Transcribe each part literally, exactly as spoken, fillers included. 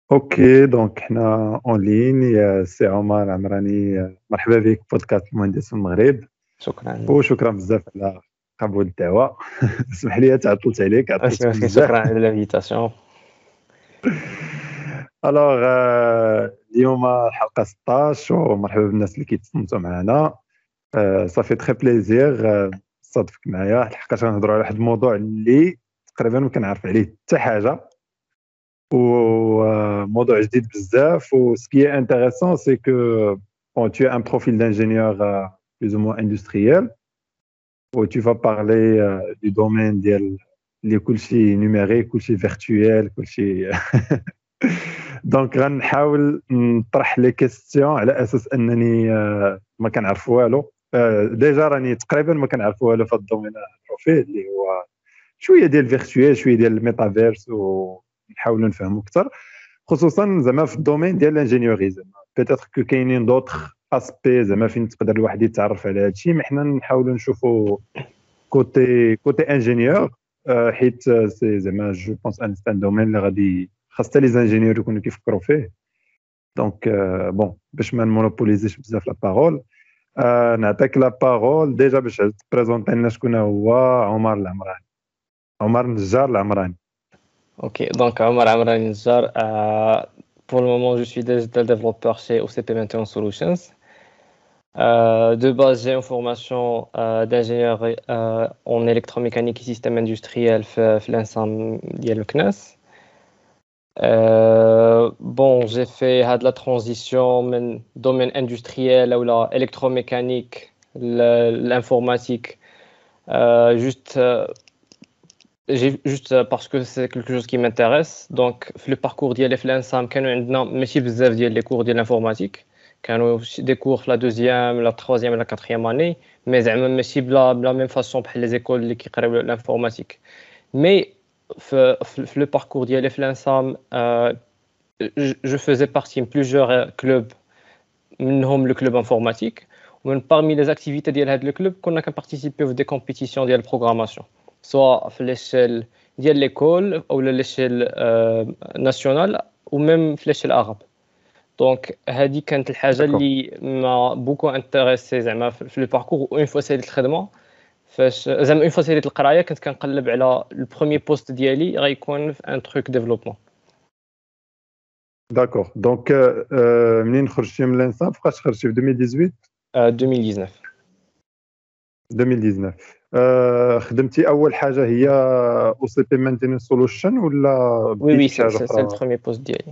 اوكي دونك حنا اون لين يا سي عمر العمراني، مرحبا بك في بودكاست المهندس في المغرب. شكرا. وشكرا بزاف على قبول الدعوه. اسمح لي تعطلت عليك، ماشي عطلتك ماشي، بزاف. شكرا على الانفيتاسيون. الوغ اليوم الحلقه ستاش، ومرحبا بالناس اللي كيتصنتوا معنا. صافي تري بليزير تصادفك معايا، لحقاش غنهضروا على واحد الموضوع اللي تقريبا ما كنعرف عليه حتى حاجه، وموضوع جديد بزاف. و ce qui est intéressant c'est que bon, tu as un profil d'ingénieur euh, plus ou moins industriel où tu vas parler euh, du domaine ديال اللي كلشي numérique كلشي virtuel كلشي. دونك غنحاول نطرح لي كيستيون على اساس انني آه، ما كنعرف والو. آه، ديجا راني تقريبا ما كنعرف والو في الدومين البروفيل اللي هو شويه ديال فيرتويال شويه ديال الميتافيرس، ونحاولوا نفهموا اكثر خصوصا زعما في الدومين ديال الانجينيوري. زعما بيتيتر كو كاينين دوطخ اسبي زعما فين تقدر الواحد يتعرف على هذا الشيء، مي حنا نحاولوا نشوفوا كوتي كوتي انجينيور. آه، حيت سي زعما جو بونس ان ستان دومين اللي غادي خاص حتى لي زانجينيور يكونوا كيفكروا فيه. دونك آه، بون باش ما نمونوبوليزيش بزاف لا بارول، آه، نعطيك لا بارول ديجا باش تبريزونتي لنا شكون هو عمر العمراني. عمر النجار العمراني. Ok, donc Omar Amrani Njar, euh, pour le moment je suis digital developer chez O C P Maintenance Solutions. Euh, de base j'ai une formation euh, d'ingénieur euh, en électromécanique et système industriel في في l'Ensam ديال الكناس. Euh, bon, j'ai fait had la transition من domaine industriel ou la électromécanique, le- l'informatique, euh, juste euh, j'ai- juste euh, parce que c'est quelque chose qui m'intéresse. Donc, في le parcours ديالي في l'Ensam كانوا عندنا ماشي بزاف ديال les cours ديال l'informatique. كانوا des cours في la deuxième, la troisième et la quatrième année, mais زعما ماشي بلا بلا même façon بحال les écoles اللي كيقراو l'informatique. Mais في في- في le parcours ديالي في l'Ensam, euh, je je faisais partie de plusieurs euh, clubs, منهم le club informatique. ومن parmi les activités ديال هذا الكلوب كنا كنparticiper في des compétitions ديال programmation, soit في l'échelle ديال l'école ou à l'échelle euh, nationale ou même في l'échelle arabe. دونك هذه كانت الحاجه داكور اللي ما بوكو انتريسي زعما في في لو باركور. اون فوا ساليت الخدمه، فاش زعما اون فوا ساليت القرايه كنت كنقلب على البروميير بوست ديالي غيكون في ان تروك ديفلوبمون. داكور دونك آه، منين خرجتي من الانسان فاش خرجتي في ألفين وثمانية عشر؟ ألفين وتسعطاش. ألفين وتسعطاش آه، خدمتي اول حاجه هي او سي بي مانتيننس سولوشن ولا وي بديتي وي، بشي حاجه سي سي اخرى؟ البروميير بوست ديالي.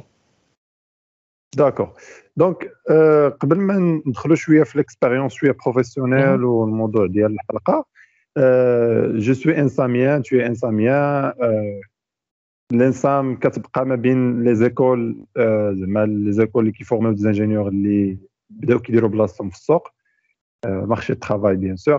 داكور دونك آه، قبل ما ندخلوا شويه في الاكسبيريونس شويه بروفيسيونيل والموضوع ديال الحلقه، جو سوي انساميان تو انساميان. الانسام كتبقى ما بين لي زيكول، زعما لي زيكول اللي كيفورميو دي زانجينيور اللي بداو كيديروا بلاصتهم في السوق، مارشي الترافاي بيان سور.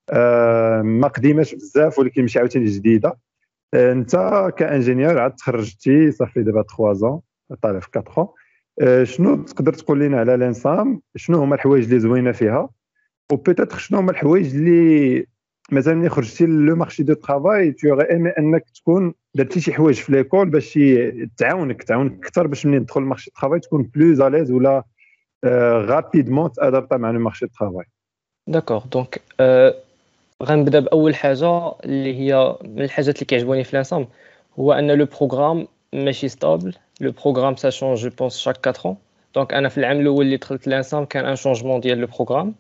ما قديماش بزاف ولكن ماشي عاوتاني جديده. آه، انت كانجينيور عاد تخرجتي صافي دابا ثلاثة ans، طالع في أربعة ans. آه، شنو تقدر تقول لنا على الانسام؟ شنو هما الحوايج اللي زوينه فيها، وبيتيتر شنو هما الحوايج اللي مثلا ملي خرجتي لو مارشي دو ترافاي تو اوري ايمي انك تكون درتي شي حوايج في ليكول باش ي- تعاونك تعاونك اكثر باش ملي تدخل المارشي دو ترافاي تكون بلوز اليز، ولا رابيدمون تادابتا مع لو مارشي دو ترافاي. داكوغ دونك غنبدا باول حاجه اللي هي من الحاجات اللي كيعجبوني في الانسام، هو ان لو بروغرام ماشي ستابل. لو بروغرام سا شونج جو بونس شاك أربعة ans. دونك انا في العام الاول اللي دخلت الانسام كان ان شونجمون ديال لو بروغرام.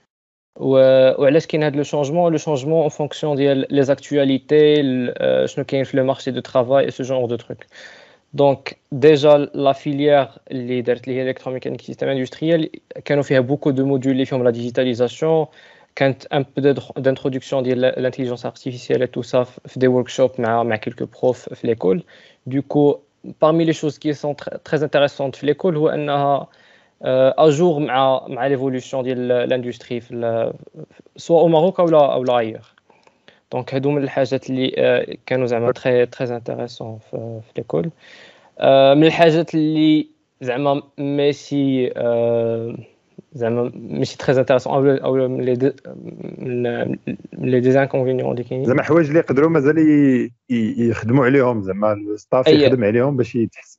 وعلاش كاين هذا لو شونجمون؟ لو شونجمون اون فونكسيون ديال لي زاكtualité، شنو كاين في لو مارشي دو ترافاي اي سو جونر دو تروك. دونك ديجا لا فيليير اللي دارت لي هي الكتروميكانيك سيستيم اندستريال كانوا فيها بوكو دو موديول اللي فيهم لا ديجيتاليزاسيون، كانت ان بو دانتروداكسيون ديال الانتيليجنس ارتيفيسيال تو سا في دي وركشوب مع مع كيلكو بروف في ليكول. دوكو parmi les choses qui sont très, très intéressantes في l'école هو انها اجور مع مع ليفولوسيون ديال الاندستري في سواء او ماروك او لا او لا ايور. دونك هادو من الحاجات اللي آه، كانوا زعما تري تري انتريسون في في ليكول. آه، من الحاجات اللي زعما ماشي آه، زعما ماشي تري انتريسون او او من لي دي- من لي ديزانكونفينيون اللي كاينين. زعما حوايج اللي يقدروا مازال ي- ي- يخدموا عليهم، زعما الستاف اي يخدم عليهم باش يتحسنوا.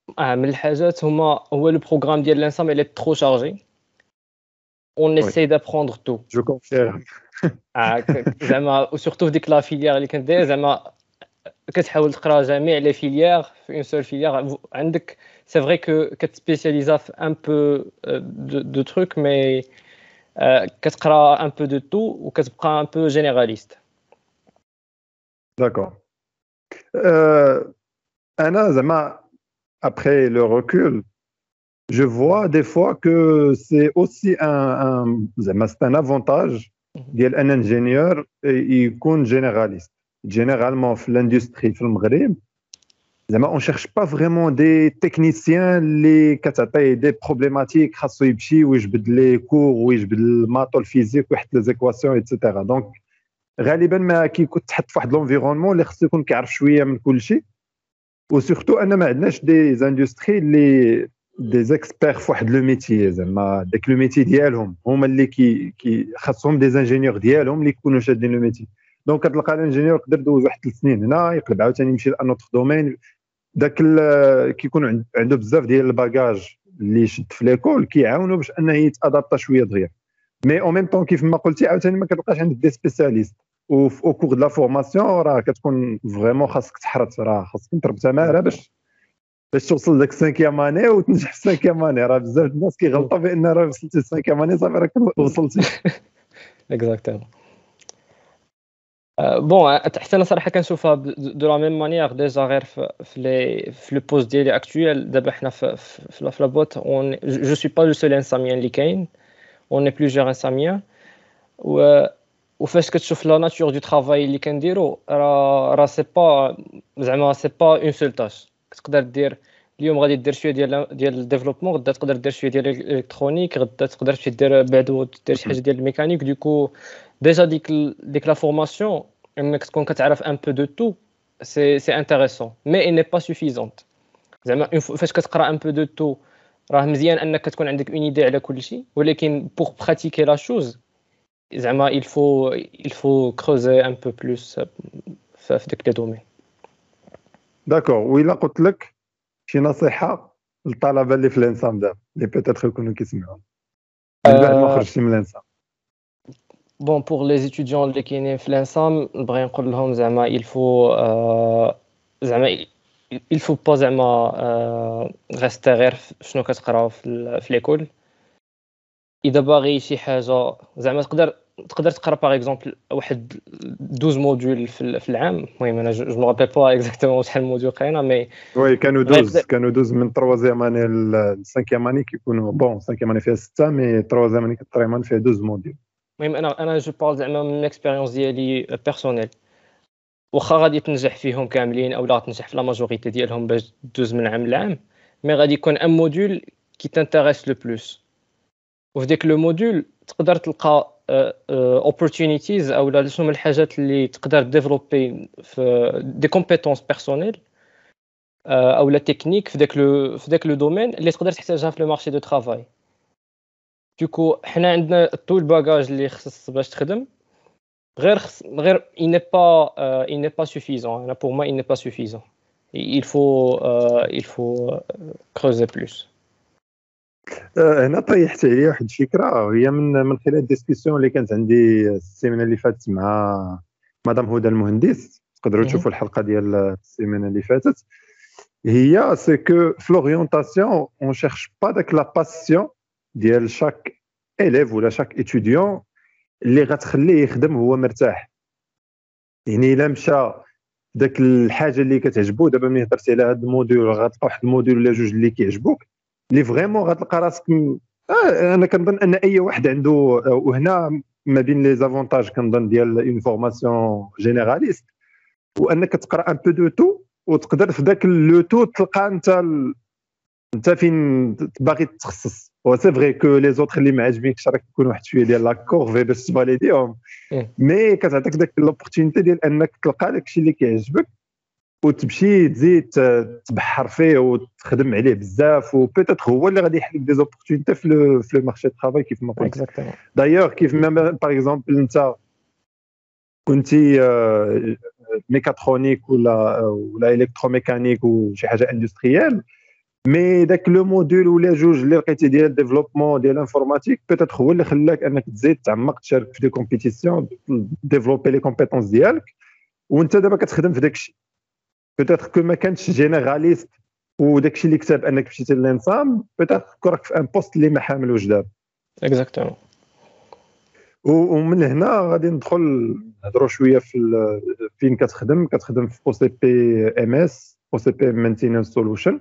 اه من الحاجات هما هو لو بروغرام ديال الانسام اللي ترو شارجي اون وي اساي دابروندر تو جو كونفيرم. اه ك- زعما وسورتو في ديك لا فيليير اللي كنت داير زعما كتحاول تقرا جميع لي فيليير في اون سول فيليير عندك سي فري كو كتسبيسياليزا في ان بو دو دو تروك مي كتقرا ان بو دو تو وكتبقى ان بو جينيراليست. داكور. Euh, انا زعما après le recul, je vois des fois que c'est aussi un, un زعما c'est un avantage ديال ان انجينيور يكون جينيراليست. جينيرالمون في الاندستري في المغرب زعما اون شيرش با فريمون دي تكنيسيان اللي كتعطيه دي بروبليماتيك خاصو يمشي ويجبد لي كور ويجبد الماطو الفيزيك ويحط لي زيكواسيون ايتترا. دونك غالبا ما كيكون تحط في واحد لونفيرونمون اللي خصو يكون كيعرف شويه من كل شيء. وسورتو ان ما عندناش دي زاندستري اللي دي زيكسبير في واحد لو ميتي زعما داك لو ميتي ديالهم هما اللي كي كي خاصهم دي زانجينيور ديالهم اللي يكونوا شادين لو ميتي. دونك كتلقى الانجينيور يقدر يدوز واحد ثلاث سنين هنا يقلب عاوتاني يمشي لان اوتر دومين. داك كيكون عنده بزاف ديال الباجاج اللي شد في ليكول كيعاونوا باش انه يتادابتا شويه دغيا. مي او ميم طون كيف ما قلتي عاوتاني ما كتلقاش عندك دي سبيسياليست. وفي او كور د لا فورماسيون راه كتكون فريمون خاصك تحرت راه خاصك تضرب تماره باش باش توصل لك سانكيام اني وتنجح في سانكيام اني. راه بزاف الناس كيغلطوا بان راه وصلتي لسانكيام اني صافي راك وصلتي. اكزاكتومون. بون حتى انا صراحه كنشوفها دو لا ميم مانيير ديجا غير في في لي في لو بوست ديالي اكطويل. دابا حنا في في لا بوت اون جو سوي با لو سول انساميان اللي كاين اون اي بلوزيور انساميان. و وفاش كتشوف لا ناتور دو طرافاي اللي كنديرو راه راه سي با زعما سي با اون سول تاش. كتقدر دير اليوم غادي دير شويه ديال ديال الديفلوبمون، غدا تقدر دير شويه ديال الالكترونيك، غدا تقدر تمشي دير بعدو دير شي حاجه ديال الميكانيك. دوكو ديجا ديك ديك لا فورماسيون انك تكون كتعرف ان بو دو تو سي سي انتريسون مي اي ني با سوفيزونت. زعما فاش كتقرا ان بو دو تو راه مزيان انك تكون عندك اون ايدي على كل شيء، ولكن بوغ براتيكي لا شوز زعما il faut il faut creuser un peu plus في في ديك لي دومين. داكور. وإلا قلت لك شي نصيحه للطلبه اللي في الانسام دابا اللي بيتيتر يكونوا كيسمعوا من بعد ما خرجتي من الانسام. بون بور لي étudiants اللي كاينين في الانسام نبغي نقول لهم زعما il faut زعما il faut pas زعما rester غير شنو كتقراو في في ليكول. اذا باغي شي حاجه زعما تقدر تقدر تقرا باغ اكزومبل واحد اثنا عشر موديول في في العام. المهم انا جو مو رابيل با اكزاكتومون شحال موديول قرينا مي وي كانوا دوز غير كانوا دوز من تروازيام اني للسانكيام اني كيكونوا بون سانكيام اني فيها سته مي تروازيام اني كتريمان فيها دوز موديول. المهم انا انا جو بارل زعما من اكسبيريونس ديالي بيرسونيل. واخا غادي تنجح فيهم كاملين او لا تنجح في لا ماجوريتي ديالهم باش دوز من عام لعام، مي غادي يكون ان موديول كي تانتيريس لو بلوس. وفي ديك لو موديول تقدر تلقى opportunities او لا شنو من الحاجات اللي تقدر ديفلوبي في دي كومبيتونس بيرسونيل او لا تكنيك في داك لو في داك لو دومين اللي تقدر تحتاجها في لو مارشي دو طرافاي. دوكو حنا عندنا طول الباجاج اللي خص باش تخدم غير خص غير il n'est pas euh, il n'est pas suffisant. Là pour moi il n'est pas suffisant. Il faut euh, il faut creuser plus. هنا طيحت عليا واحد الفكره هي من من خلال الديسكسيون اللي كانت عندي السيمانه اللي فاتت مع مدام هدى المهندس. تقدروا تشوفوا الحلقه ديال السيمانه اللي فاتت. هي سي كو في لورينتاسيون اون شيرش با داك لا باسيون ديال شاك élève ولا شاك étudiant اللي غتخليه يخدم هو مرتاح. يعني الا مشى داك الحاجه اللي كتعجبو دابا ملي هضرتي على هذا الموديول غتلقى واحد الموديول ولا جوج اللي كيعجبوك اللي فريمون غتلقى راسك م... آه انا كنظن ان اي واحد عنده. وهنا ما بين لي زافونتاج كنظن ديال اون فورماسيون جينيراليست وانك تقرا ان بو دو تو وتقدر في ذاك لو تو تلقى انت ال... انت فين باغي تتخصص. و سي فري كو لي زوطخ اللي ما عاجبينكش راك تكون واحد شويه ديال لا كورفي باش تفاليديهم مي كتعطيك داك لوبورتونيتي ديال انك تلقى داكشي اللي كيعجبك وتمشي تزيد تبحر فيه وتخدم عليه بزاف وبيتيت هو اللي غادي يحلك دي زوبورتونيتي في لو في لو مارشي دو طرافاي كيف ما قلت. دايوغ كيف ما باغ اكزومبل انت كنتي ميكاترونيك ولا ولا الكتروميكانيك وشي حاجه اندستريال مي داك لو موديل ولا جوج اللي لقيتي ديال ديفلوبمون ديال انفورماتيك بيتيت هو اللي خلاك انك تزيد تعمق تشارك في دي كومبيتيسيون ديفلوبي لي كومبيتونس ديالك وانت دابا كتخدم في داك الشيء بيتيت كو ما كانتش جينيراليست وداك الشيء اللي كتب انك مشيتي للانسام بيتيت كراك في ان بوست اللي ما حاملوش دابا اكزاكتومون. ومن هنا غادي ندخل نهضروا شويه في فين كتخدم كتخدم في او سي بي ام اس او سي بي مينتيننس سولوشن.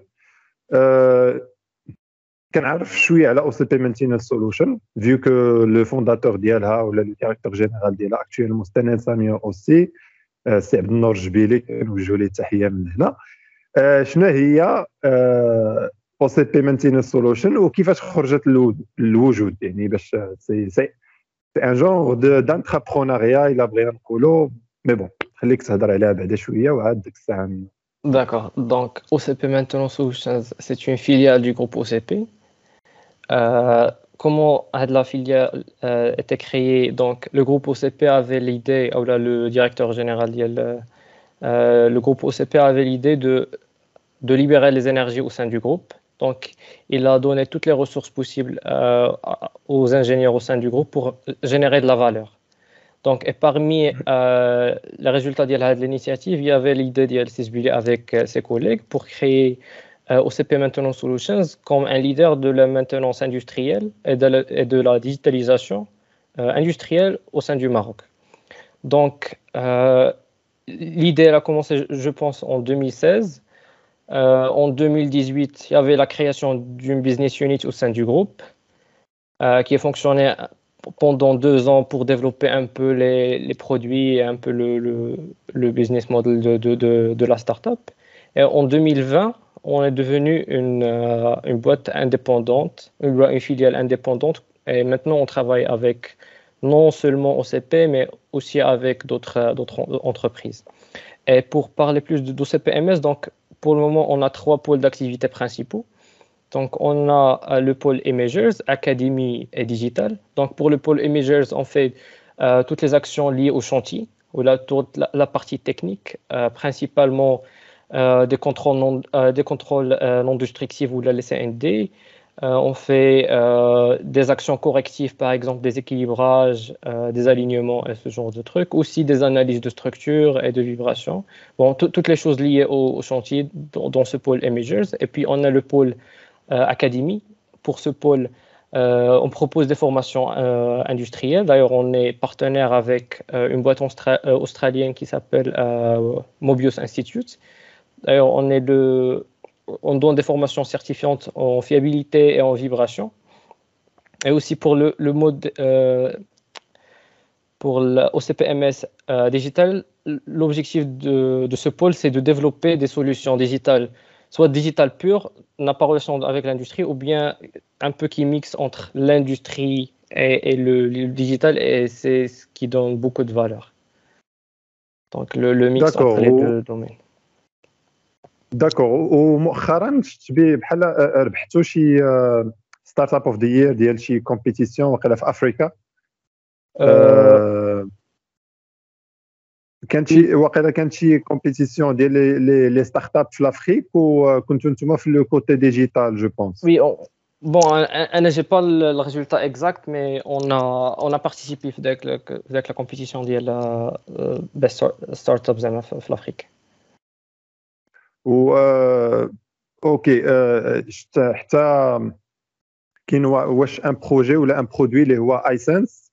كنعرف شويه على او سي بي مينتيننس سولوشن فيو كو لو فونداتور ديالها ولا لو ديريكتور جينيرال ديالها اكطويلمون ستاني ساميه اوسي سي عبد النور الجبيلي كنوجهوا ليه التحيه من هنا. شنو هي او سي بي مينتيننس سولوشن وكيفاش خرجت للوجود يعني باش سي سي ان جونغ دانتربرونيا الا بغينا نقولوا مي بون خليك تهضر عليها بعدا شويه وعاد ديك الساعه. D'accord. Donc, O C P Maintenance Solutions, c'est une filiale du groupe O C P. Euh, comment la filiale euh, était créée? Donc, le groupe O C P avait l'idée, ou là, le directeur général, euh, le groupe O C P avait l'idée de, de libérer les énergies au sein du groupe. Donc, il a donné toutes les ressources possibles euh, aux ingénieurs au sein du groupe pour générer de la valeur. Donc, et parmi euh, les résultats de l'initiative, il y avait l'idée de Sisbuli avec euh, ses collègues pour créer euh, O C P Maintenance Solutions comme un leader de la maintenance industrielle et de la, et de la digitalisation euh, industrielle au sein du Maroc. Donc, euh, l'idée elle a commencé, je pense, en deux mille seize. Euh, en deux mille dix-huit, il y avait la création d'une business unit au sein du groupe euh, qui a fonctionné pendant deux ans pour développer un peu les, les produits et un peu le, le, le business model de, de, de, de la startup. Et en deux mille vingt, on est devenu une, euh, une boîte indépendante, une, une filiale indépendante. Et maintenant, on travaille avec non seulement O C P, mais aussi avec d'autres, d'autres entreprises. Et pour parler plus d'O C P M S, donc, pour le moment, on a trois pôles d'activité principaux. Donc, on a le pôle Imagers, Académie et Digital. Donc, pour le pôle Imagers, on fait euh, toutes les actions liées au chantier, ou la, toute la, la partie technique, euh, principalement euh, des contrôles non, euh, des contrôles, euh, non destructifs ou la C N D. Euh, on fait euh, des actions correctives, par exemple des équilibrages, euh, des alignements et ce genre de trucs. Aussi des analyses de structure et de vibration. Bon, toutes les choses liées au, au chantier dans, dans ce pôle Imagers. Et puis, on a le pôle Euh, académie. Pour ce pôle, euh, on propose des formations euh, industrielles. D'ailleurs, on est partenaire avec euh, une boîte austra- euh, australienne qui s'appelle euh, Mobius Institute. D'ailleurs, on, est le, on donne des formations certifiantes en fiabilité et en vibration. Et aussi pour le, le mode euh, pour l'O C P M S euh, digital, l'objectif de, de ce pôle, c'est de développer des solutions digitales soit digital pur, n'a pas relation avec l'industrie, ou bien un peu qui mixe entre l'industrie et, et le, le digital, et c'est ce qui donne beaucoup de valeur. Donc le, le mix entre les deux domaines. D'accord. ومؤخرا شفت بيه بحال ربحتوا شي ستارت اب اوف ذا يير ديال شي كومبيتيسيون وقيلا في افريكا. أه كانت شي واقيلا كانت شي كومبيتيسيون ديال لي لي ستارت اب في l'Afrique وكنتوا نتوما في لو كوتي ديجيتال جو بونس. Oui, on... bon, انا j'ai pas le, le résultat exact, mais on a on a participé avec la, avec la compétition ديال best startups زعما في l'Afrique. و اوكي شفت حتى كاين واش ان بروجي ولا ان برودوي اللي هو ايسنس.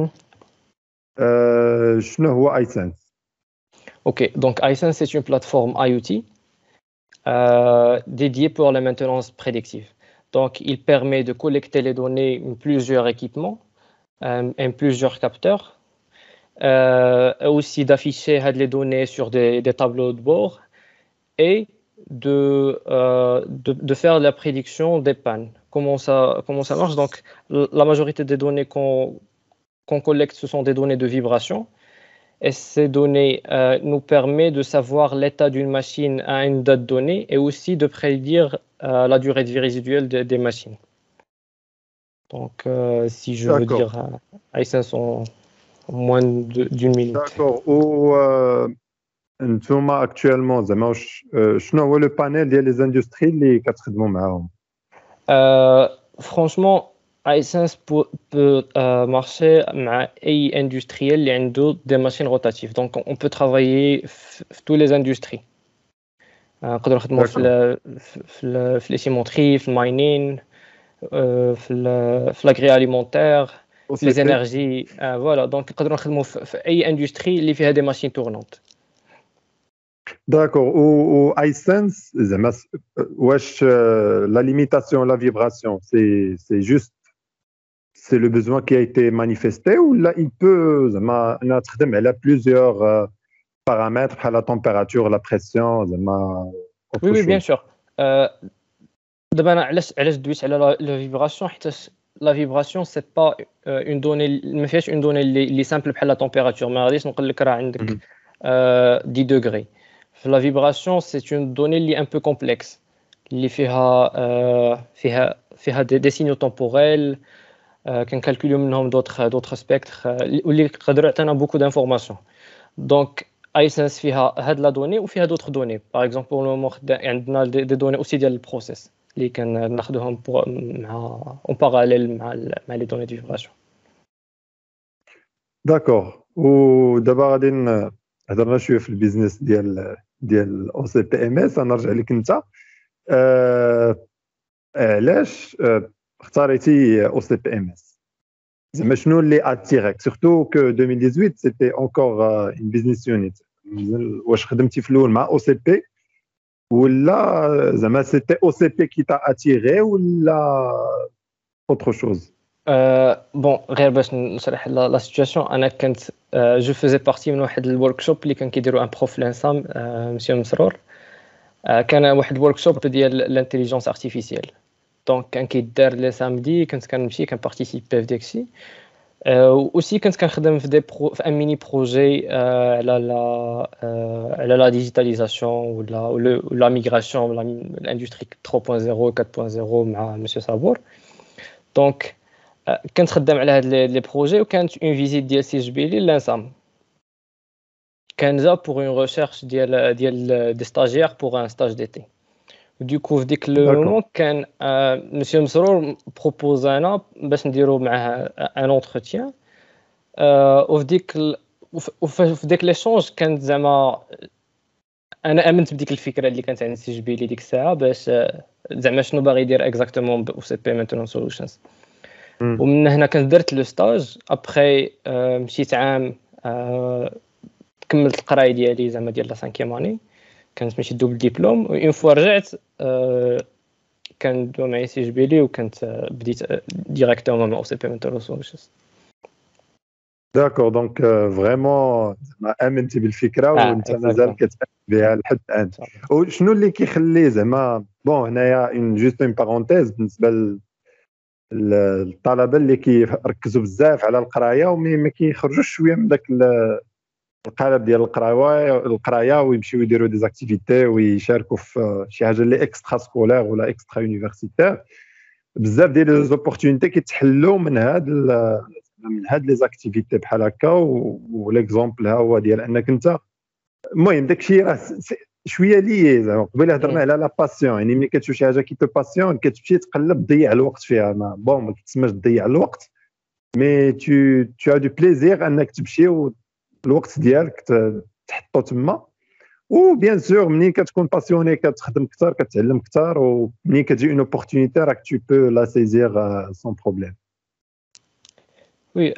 شنو هو ايسنس؟ Ok, donc iSense c'est une plateforme IoT euh, dédiée pour la maintenance prédictive. Donc il permet de collecter les données en plusieurs équipements euh, et plusieurs capteurs, euh, aussi d'afficher les données sur des, des tableaux de bord et de, euh, de, de faire la prédiction des pannes. Comment ça, comment ça marche? Donc la majorité des données qu'on qu'on collecte, ce sont des données de vibration. Et ces données euh, nous permettent de savoir l'état d'une machine à une date donnée et aussi de prédire euh, la durée de vie résiduelle de, des machines. Donc, euh, si je veux dire euh, iSense en, en moins d'une minute. D'accord. Ou نتوما اكطوالمون زعما واش شنو هو لو بانيل ديال لي زاندستري اللي كتخدموا معاهم؟ Euh, franchement, iSense peut, peut euh, marcher مع أي industriel اللي عنده des machines rotatives. Donc, on peut travailler في في tous les industries. آه، نقدروا نخدموا في داكور ال في ال في ليسيمونتري، في الماينين، آه، في ال في لاغري اليمونتير، او في سي لي بي. زينيرجي. فوالا دونك نقدروا نخدموا في في اي اندستري اللي فيها دي ماشين تورنونت. داكور و اي سنس زعما س- واش لا ليميتاسيون لا فيبراسيون سي سي جوست سي لو besoin qui a été manifesté ولا il peut زعما انا تخدم على plusieurs paramètres بحال la température la pression زعما وي autre وي بيان chose. سور. دابا انا علاش علاش دويت على لا فيبراسيون، حيت لا فيبراسيون سي با اون دوني، ما فيهاش اون دوني اللي اللي سامبل بحال لا تمبيراتور. ما غاديش نقول لك راه عندك Mhm. عشرة دوغري. في لا فيبراسيون سي اون دوني اللي ان بو كومبلكس، اللي فيها آه، فيها فيها دي, دي سينيو تمبوريل، كنكالكوليو منهم دوطخ دوطخ سبيكتر واللي يقدروا يعطينا بوكو دانفورماسيون. دونك ايسنس فيها هاد لا دوني وفيها دوطخ دوني. باغ اكزومبل بور لو مومون عندنا دي, دي دوني اوسي ديال البروسيس اللي كناخذوهم مع اون باراليل مع ال مع لي دوني دو فيبراسيون. داكور ودابا غادي ن- هضرنا شويه في البيزنس ديال ديال او سي بي ام اس. انا نرجع لك انت. آه، علاش آه، اختاريتي او سي بي ام اس؟ زعما شنو اللي اتيريك سورتو كو ألفين وثمانية عشر سيتي اونكور اون بيزنس يونيت؟ واش خدمتي في الاول مع او سي بي ولا زعما سيتي او سي بي كي تا اتيري ولا اوتر شوز؟ أه بون غير باش نشرح لا لا سيتوياسيون، انا كنت أه جو فيزي بارتي من واحد الورك شوب اللي كان كيديروا ان بروف لانسام أه مسيو مسرور. أه كان واحد الورك شوب ديال الانتيليجنس ارتيفيسيال. دونك كان كيدار لي سامدي، كنت كنمشي كنبارتيسيبي في داكشي. أه اوسي كنت كنخدم في دي برو في ان ميني بروجي أه على لا أه على لا ديجيتاليزاسيون ولا ولا ميغراسيون ولا الاندستري ثلاثة نقطة صفر أربعة نقطة صفر مع مسيو صابور. دونك كنت خدام على هاد لي بروجي، وكانت اون فيزيت ديال سي جبيلي لانسام. كان جا بوغ اون ريشيرش ديال ديال دي ستاجير بوغ ان ستاج ديتي. دوكو في ديك لو داكور مومون كان مسيو مسرور بروبوزانا باش نديرو معاه ان اونتروتيان. وفي ديك ال- وف- وف- في ديك ليشونج كانت زعما انا امنت بديك الفكره اللي كانت عند سي جبيلي ديك الساعه، باش آه، زعما شنو باغي يدير اكزاكتومون ب سي بي مينتونون سولوشنز. ومن هنا كنت درت لو ستاج. ابخي مشيت عام، آه، كملت القرايه ديالي زعما ديال لا سانكيام اني، كانت ماشي دوبل ديبلوم. اون فوا رجعت آه، كان دو معي سي جبيلي، وكنت آه، بديت ديريكتومون مع او سي بي مينتونون سولوشنز. داكور دونك فريمون زعما امنتي بالفكره اه وانت مازال اكزاكتومون. كتامن بها لحد الان. وشنو اللي كيخلي زعما بون هنايا اون جوست اون بارونتيز بالنسبه لل- للطلبه اللي كيركزوا بزاف على القرايه ومي ما كيخرجوش شويه من داك ال- القالب ديال القرايه القرايه ويمشيو يديروا دي زاكتيفيتي ويشاركوا في شي حاجه اللي اكسترا سكولير ولا اكسترا يونيفرسيتير. بزاف ديال لي زوبورتونيتي كيتحلوا من هاد ال- من هاد لي زاكتيفيتي بحال هكا. وليكزومبل ها هو ديال انك انت المهم داكشي راه س- شويه لي زعما قبيله هضرنا على لا باسيون. يعني ملي كتشوف شي حاجه كي تو باسيون كتمشي تقلب تضيع الوقت فيها. ما بون ما كتسماش تضيع الوقت، مي تو تو ا دو بليزير انك تمشي والوقت ديالك ت- تحطو تما. وبيان سور ملي كتكون باسيوني كتخدم اكثر كتعلم اكثر، وملي كتجي اون اوبورتونيتي راك تو بو لا سيزير سون بروبليم. وي.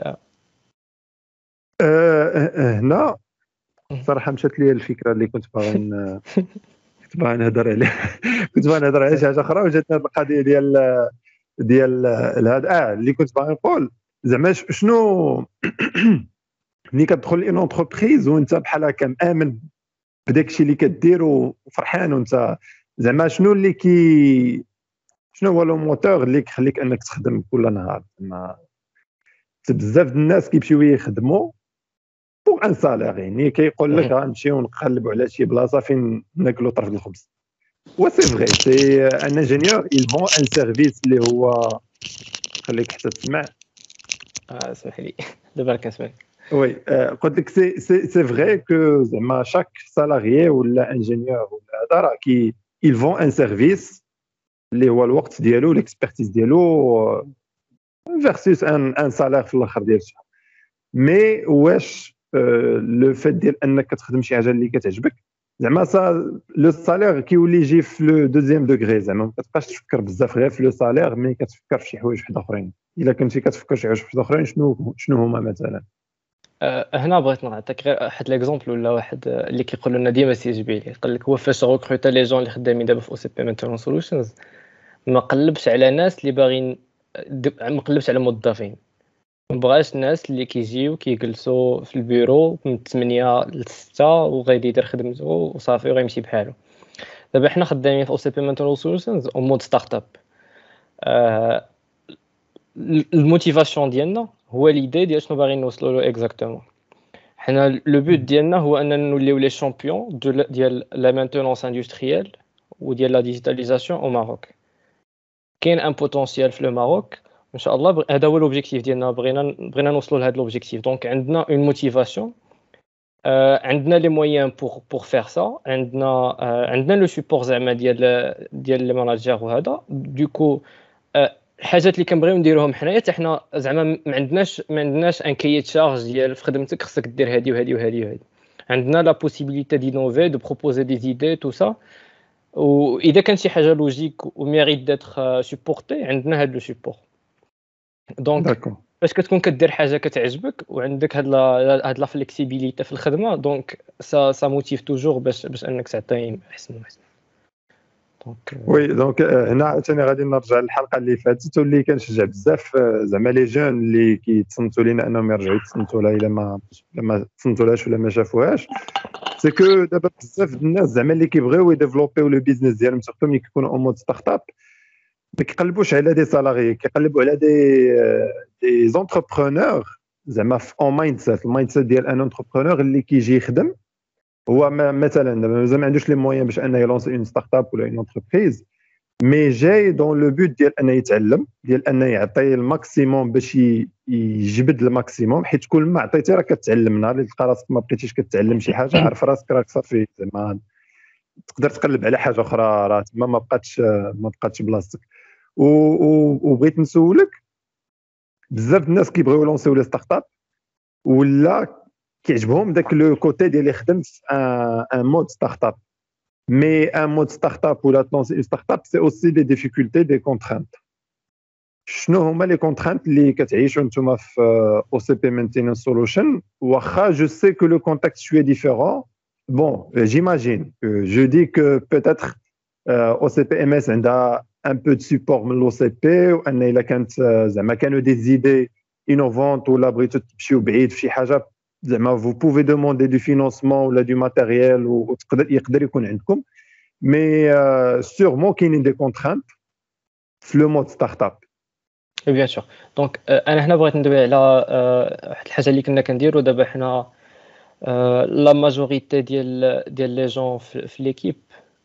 هنا صراحه مشات لي الفكره اللي كنت باغي ن- كنت باغي نهضر عليها. كنت باغي نهضر على شي حاجه اخرى وجاتني هذه القضيه ديال ديال هذا اه اللي كنت باغي نقول. زعما ش- شنو ملي كتدخل لون اونتربريز وانت بحال هكا مآمن بداك الشيء اللي كدير وفرحان وانت زعما شنو اللي كي شنو هو لو موتور اللي كيخليك انك تخدم كل نهار؟ زعما بزاف د الناس كيمشيو يخدموا بوغ ان سالير، يعني كيقول لك غنمشيو نقلبوا على شي بلاصه فين ناكلوا طرف الخبز. و سي فغي سي ان انجينيور il vend un service اللي هو خليك حتى تسمع. اه اسمح لي دابا كنسمعك. وي قلت لك سي سي سي فري كو زعما شاك سالاريي ولا انجينيور ولا هذا راه كي ils vont un service اللي هو الوقت ديالو الاكسبرتيز ديالو فيرسوس ان ان سالير في الاخر ديال الشهر. مي واش لو فيت ديال انك كتخدم شي حاجه اللي كتعجبك زعما سا لو سالير كيولي يجي في لو دوزيام دوغري، زعما ما كتبقاش تفكر بزاف غير في لو سالير، مي كتفكر في شي حوايج واحد اخرين. الا كنتي كتفكر شي حوايج واحد اخرين شنو شنو هما مثلا؟ أه، هنا بغيت نعطيك غير واحد ليكزومبل ولا واحد أه، اللي كيقول لنا ديما سي جي بي لي قال لك هو فاش غوكروتا لي جون اللي خدامين دابا في او سي بي مينتينون سولوشنز ما قلبش على ناس اللي باغيين د- ما قلبش على موظفين، ما بغاش الناس اللي كيجيو كيجلسوا في البيرو من ثمانية ل ستة وغادي يدير خدمته وصافي وغيمشي بحاله. دابا حنا خدامين في او سي بي مينتينون سولوشنز او مود ستارت اب. أه، الموتيفاسيون ديالنا هو ليدي ديال شنو باغيين نوصلوا له اكزاكتومون. حنا لو بوت ديالنا هو اننا نوليو لي شامبيون ديال لا مانتونونس اندستريال وديال لا ديجيتاليزاسيون او ماروك. كاين ان بوتونسيال في لو ماروك ان شاء الله، هذا هو لوبجيكتيف ديالنا، بغينا بغينا نوصلوا لهذا لوبجيكتيف. دونك عندنا اون موتيفاسيون، عندنا لي مويان بور بور فير سا، عندنا عندنا لو سيبور زعما ديال ديال لي ماناجير وهذا. دوكو الحاجات اللي كنبغيو نديروهم حنايا حتى حنا زعما ما عندناش ما عندناش ان كايي تشارج ديال في خدمتك خصك دير هادي وهادي وهادي وهادي. عندنا لا بوسيبيليتي دينوفي دو بروبوزي دي زيدي تو سا، واذا كان شي حاجه لوجيك وميريت داتر سوبورتي عندنا هاد لو سوبور. دونك داكور. فاش كتكون كدير حاجه كتعجبك وعندك هاد لا هاد لا فليكسيبيليتي في الخدمه، دونك سا سا موتيف توجور باش باش انك تعطي احسن واحسن. دونك وي دونك هنا عاوتاني غادي نرجع للحلقه اللي فاتت واللي كنشجع بزاف آه، زعما لي جون اللي كيتصنتوا لينا انهم يرجعوا يتصنتوا لها الا ما الا ما تصنتوا لهاش ولا ما شافوهاش. سي كو دابا بزاف د الناس زعما اللي كيبغيو يديفلوبيو لو بيزنس ديالهم سورتو ملي كيكونوا اون مود ستارت اب، ما كيقلبوش على دي سالاري، كيقلبوا على دي آه، دي زونتربرونور زعما في اون مايند سيت. المايند سيت ديال ان انتربرونور اللي كيجي يخدم هو ما- مثلا دابا مازال ما عندوش لي مويان باش انه يلونسي اون ستارت اب ولا اون انتربريز، مي جاي دون لو بوت ديال انه يتعلم، ديال انه يعطي الماكسيموم باش ي- يجبد الماكسيموم. حيت كل ما عطيتي راه كتعلم. نهار اللي تلقى راسك ما بقيتيش كتعلم شي حاجه عارف راسك راك صافي زعما تقدر تقلب على حاجه اخرى، راه تما ما بقاتش ما بقاتش بلاصتك. و- و- وبغيت نسولك بزاف د الناس كيبغيو يلونسيو لي ستارت اب ولا كيعجبهم داك لو كوتي ديال يخدم في ان مود ستارت اب. Mais un mode startup ou la une startup, c'est aussi des difficultés, des contraintes. شنو هما لي كونترانت اللي كتعيشوا نتوما في او سي بي مينتيننس سولوشن؟ واخا جو سي كو لو كونتاكت شويه ديفيرون. بون جيماجين جو دي كو بوتيتر او سي بي ام اس عندها ان بو دو سيبور من لو سي بي، وان الا كانت آه، زعما كانوا دي زيدي انوفونت ولا بغيتو تمشيو بعيد في شي حاجه زعما vous pouvez demander du financement ولا du matériel وتقدر يقدر يكون عندكم. مي سيغمون كاينين دي كونترانت في لو مود ستارت اب. بيان سور. دونك انا هنا بغيت ندوي على آه، واحد الحاجه اللي كنا كنديروا دابا حنا. لا ماجوريتي ديال ديال لي جون في ليكيب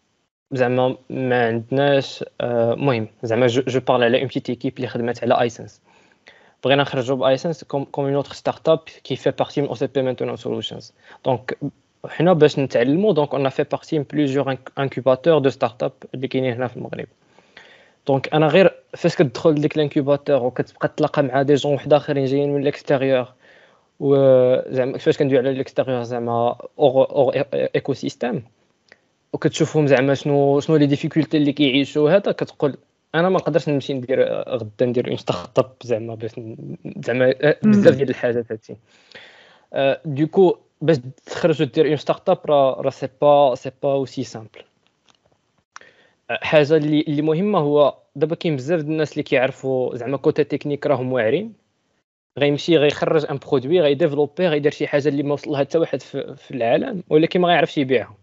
زعما ما عندناش آه، مهم زعما جو بارل على اون بيتيت ايكيب اللي خدمات على ايسنس. بغينا نخرجوا بايسنس كوم كوم اون اوتر ستارت اب كي في بارتي من او سي بي مينتينون سولوشنز. دونك حنا باش نتعلموا دونك اون في بارتي من بليزيور انكوباتور دو ستارت اب اللي كاينين هنا في المغرب. دونك انا غير فاش كتدخل لديك الانكوباتور وكتبقى تلاقى مع دي جون واحد اخرين جايين من الاكستيريور، وزعما فاش كندوي على الاكستيريور زعما اور اور ايكو سيستيم، وكتشوفهم زعما شنو شنو لي ديفيكولتي اللي كيعيشوا هذا، كتقول انا ما نقدرش نمشي ندير غدا ندير اون ستارت اب زعما باش زعما بزاف ديال الحاجات هادشي. دوكو باش تخرج ودير اون ستارت اب راه راه سي با سي با اوسي سامبل. حاجه اللي اللي مهمه هو دابا كاين بزاف د الناس اللي كيعرفوا زعما كوتا تكنيك راهم واعرين، غيمشي غيخرج ان برودوي غيديفلوبي غيدير شي حاجه اللي ما وصل لها حتى واحد في, في العالم، ولكن ما غيعرفش يبيعها.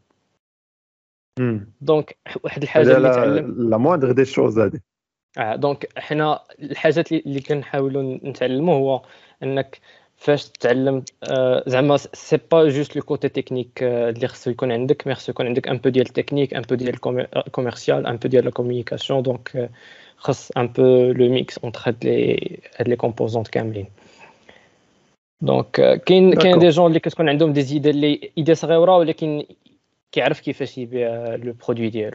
دونك واحد الحاجه اللي تعلم لا موندغ دي شوز هذه. اه دونك حنا الحاجات اللي, اللي كنحاولوا نتعلموا هو انك فاش تتعلم آه زعما سي با جوست لو كوتي تكنيك آه اللي خصو يكون عندك، مي خصو يكون عندك ان بو ديال التكنيك، ان بو ديال الكوميرسيال، ان بو ديال لا كومونيكاسيون. دونك آه خص ان بو لو ميكس اونتر هاد لي هاد لي كومبوزونت كاملين. دونك كاين كاين داكور. دي جون اللي كتكون عندهم دي زيد اللي ايدي صغيره ولكن كيعرف كيفاش يبيع لو برودوي ديالو.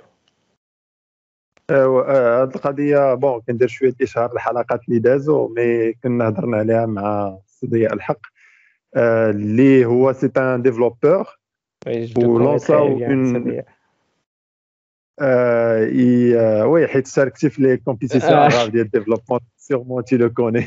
هاد القضيه بون كندير شويه اشهار الحلقات اللي دازوا مي كنا هضرنا عليها مع ضياء الحق آه، اللي هو سي ان ديفلوبور وي جو كوني تري ولونساو بيان اون سي. آه ي- آه، وي حيت شاركتي في لي كومبيتيسيون اغاف ديال الديفلوبمون سيغمون تي لو كوني.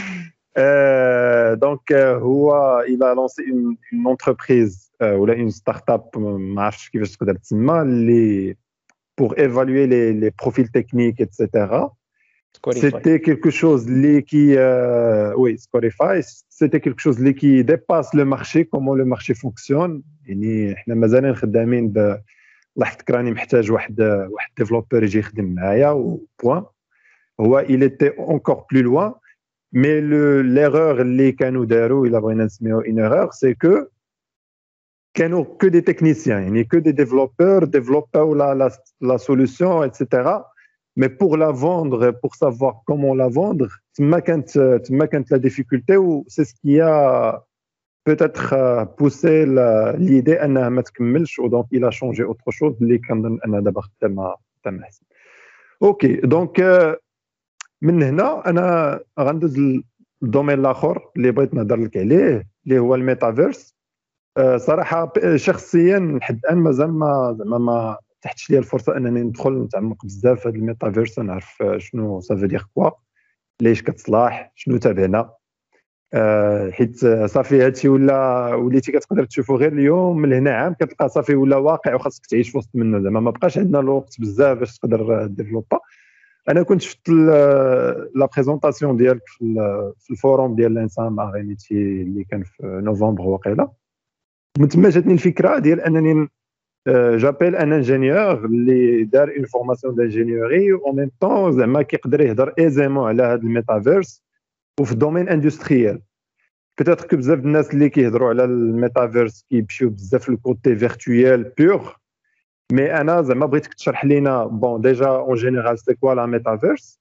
دونك هو الى لونسي اون اون انتربريز ولا اون ستارت اب ما عرفتش كيفاش تقدر تسمى اللي pour évaluer les, les profils techniques, et cetera. C'était quelque chose qui, euh, oui, Scorify, c'était quelque chose qui dépasse le marché, comment le marché fonctionne. يعني احنا مازالين خدامين ب الله يحفظك راني محتاج واحد واحد ديفلوبور يجي يخدم معايا و بوان. هو il était encore plus loin, mais le l'erreur اللي كانوا داروا الا بغينا نسميو une erreur, c'est que كانوا que des techniciens, يعني que des développeurs, développeurs la, la, la solution, et cetera. Mais pour la vendre, pour savoir comment la vendre, تما كانت تما كانت la difficulté ou c'est ce qui a peut-être poussé l'idée انها ما تكملش و donc il a changé autre chose اللي كنظن انها دابا خدامه خدامه احسن. اوكي دونك من هنا انا غندوز للدومين الاخر اللي بغيت نهضر لك عليه اللي هو الميتافيرس. صراحه شخصيا لحد الان مازال ما زعما ما تحتش لي الفرصه انني ندخل نتعمق بزاف في هذا الميتافيرس نعرف شنو سافو دير كوا ليش كتصلاح شنو تابعنا. أه حيت صافي هادشي ولا وليتي كتقدر تشوفو غير اليوم من هنا عام كتلقى صافي ولا واقع وخاصك تعيش في وسط منه زعما ما بقاش عندنا الوقت بزاف باش تقدر ديفلوبا. انا كنت شفت لا بريزونطاسيون ديالك في الفوروم ديال الانسان اغينيتي اللي كان في نوفمبر وقيله من تما جاتني الفكره ديال انني جابيل ان انجينيور اللي دار اون فورماسيون دانجينيوري و ميم طون زعما كيقدر يهضر ايزيمون على هذا الميتافيرس وفي الدومين اندستريال. بيتيتر كو بزاف الناس اللي كيهضروا على الميتافيرس كيمشيو بزاف للكوتي فيرتويال بور مي انا زعما بغيتك تشرح لينا بون ديجا اون جينيرال سي كوا لا ميتافيرس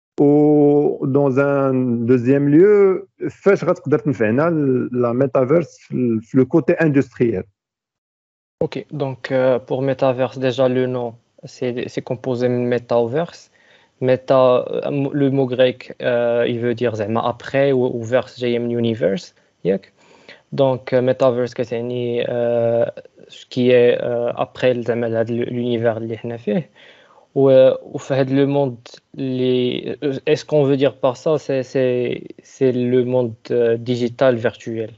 و dans un deuxième lieu فاش غتقدر تنفعنا لا ميتافيرس في لو كوتي اندستريال. Ok, donc euh, pour Metaverse, déjà le nom, c'est c'est composé de Metaverse. Meta, euh, le mot grec, euh, il veut dire زعما après ou, ou verse جاي من universe, ياك. Donc euh, Metaverse كتعني euh, ce qui est euh, après زعما هذا l'univers اللي حنا فيه. و وفي هذا le monde اللي est-ce qu'on veut dire par ça c'est c'est c'est le monde euh, digital virtuel.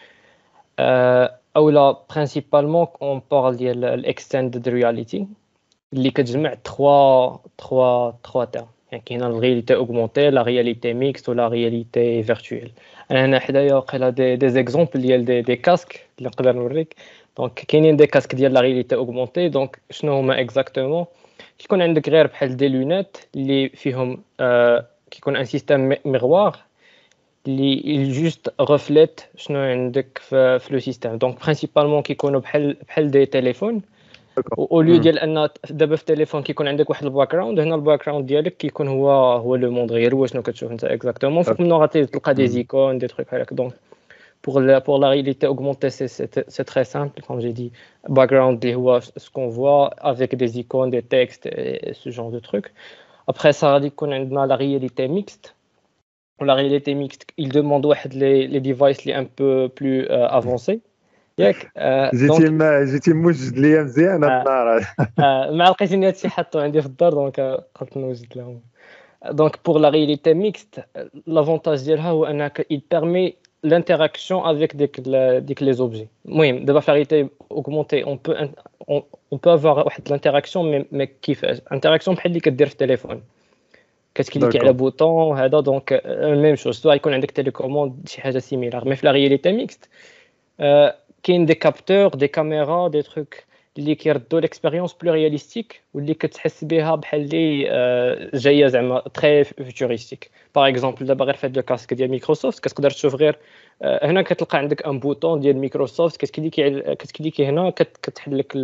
Euh, ou là, principalement, on parle de l'extended reality, اللي كتجمع trois trois trois termes. يعني كاين la réalité augmentée, la réalité mixte ou la réalité virtuelle. انا هنا حدايا وقيلا دي دي زيكزامبل ديال دي دي كاسك اللي نقدر نوريك. دونك كاينين دي كاسك ديال la réalité augmentée. دونك شنو هما اكزاكتومون؟ كيكون عندك غير بحال دي لونيت اللي فيهم آه كيكون ان سيستيم ميغوار اللي جوست ريفليت شنو عندك في في لو سيستيم. دونك برينسيبالمون كيكونوا بحال بحال دي تليفون او ليو ديال ان دابا في التليفون كيكون عندك واحد الباك جراوند. هنا الباك جراوند ديالك كيكون هو هو لو موند غير هو شنو كتشوف انت اكزاكتومون. فوق منو غادي تلقى دي زيكون دي تروك بحال هكا. دونك pour la pour la réalité augmentée c'est c'est c'est très simple comme j'ai dit. Background اللي هو ce qu'on voit avec des icônes des textes et ce genre de trucs. Après ça غادي يكون عندنا la réalité mixte. Pour la réalité mixte, il demande les, les devices les un peu plus euh, avancés. ياك جيتي ما جيتي موجد ليا مزيان هاد النهار. ما لقيتني هادشي حطو عندي في الدار دونك قلت نوجد لهم. Donc pour la réalité mixte, l'avantage ديالها هو انك il permet l'interaction avec des, des les objets. المهم دابا في réalité augmentée on peut on, on peut avoir واحد l'interaction mais mais كيفاش interaction بحال اللي كدير في التليفون كتكليكي على بوطون هذا. دونك ميم شوز سواء يكون عندك تيليكوموند شي حاجه سيميلار. مي في لا رياليتي ميكست كاين دي كابتور دي كاميرا دي تروك اللي كيردوا ليكسبيريونس بلو رياليستيك واللي كتحس بها بحال اللي جايه زعما تري فيوتوريستيك. باغ اكزومبل دابا غير في هاد الكاسك ديال مايكروسوفت كتقدر تشوف غير هنا كتلقى عندك ان بوطون ديال مايكروسوفت كتكليكي كتكليكي هنا كتحل لك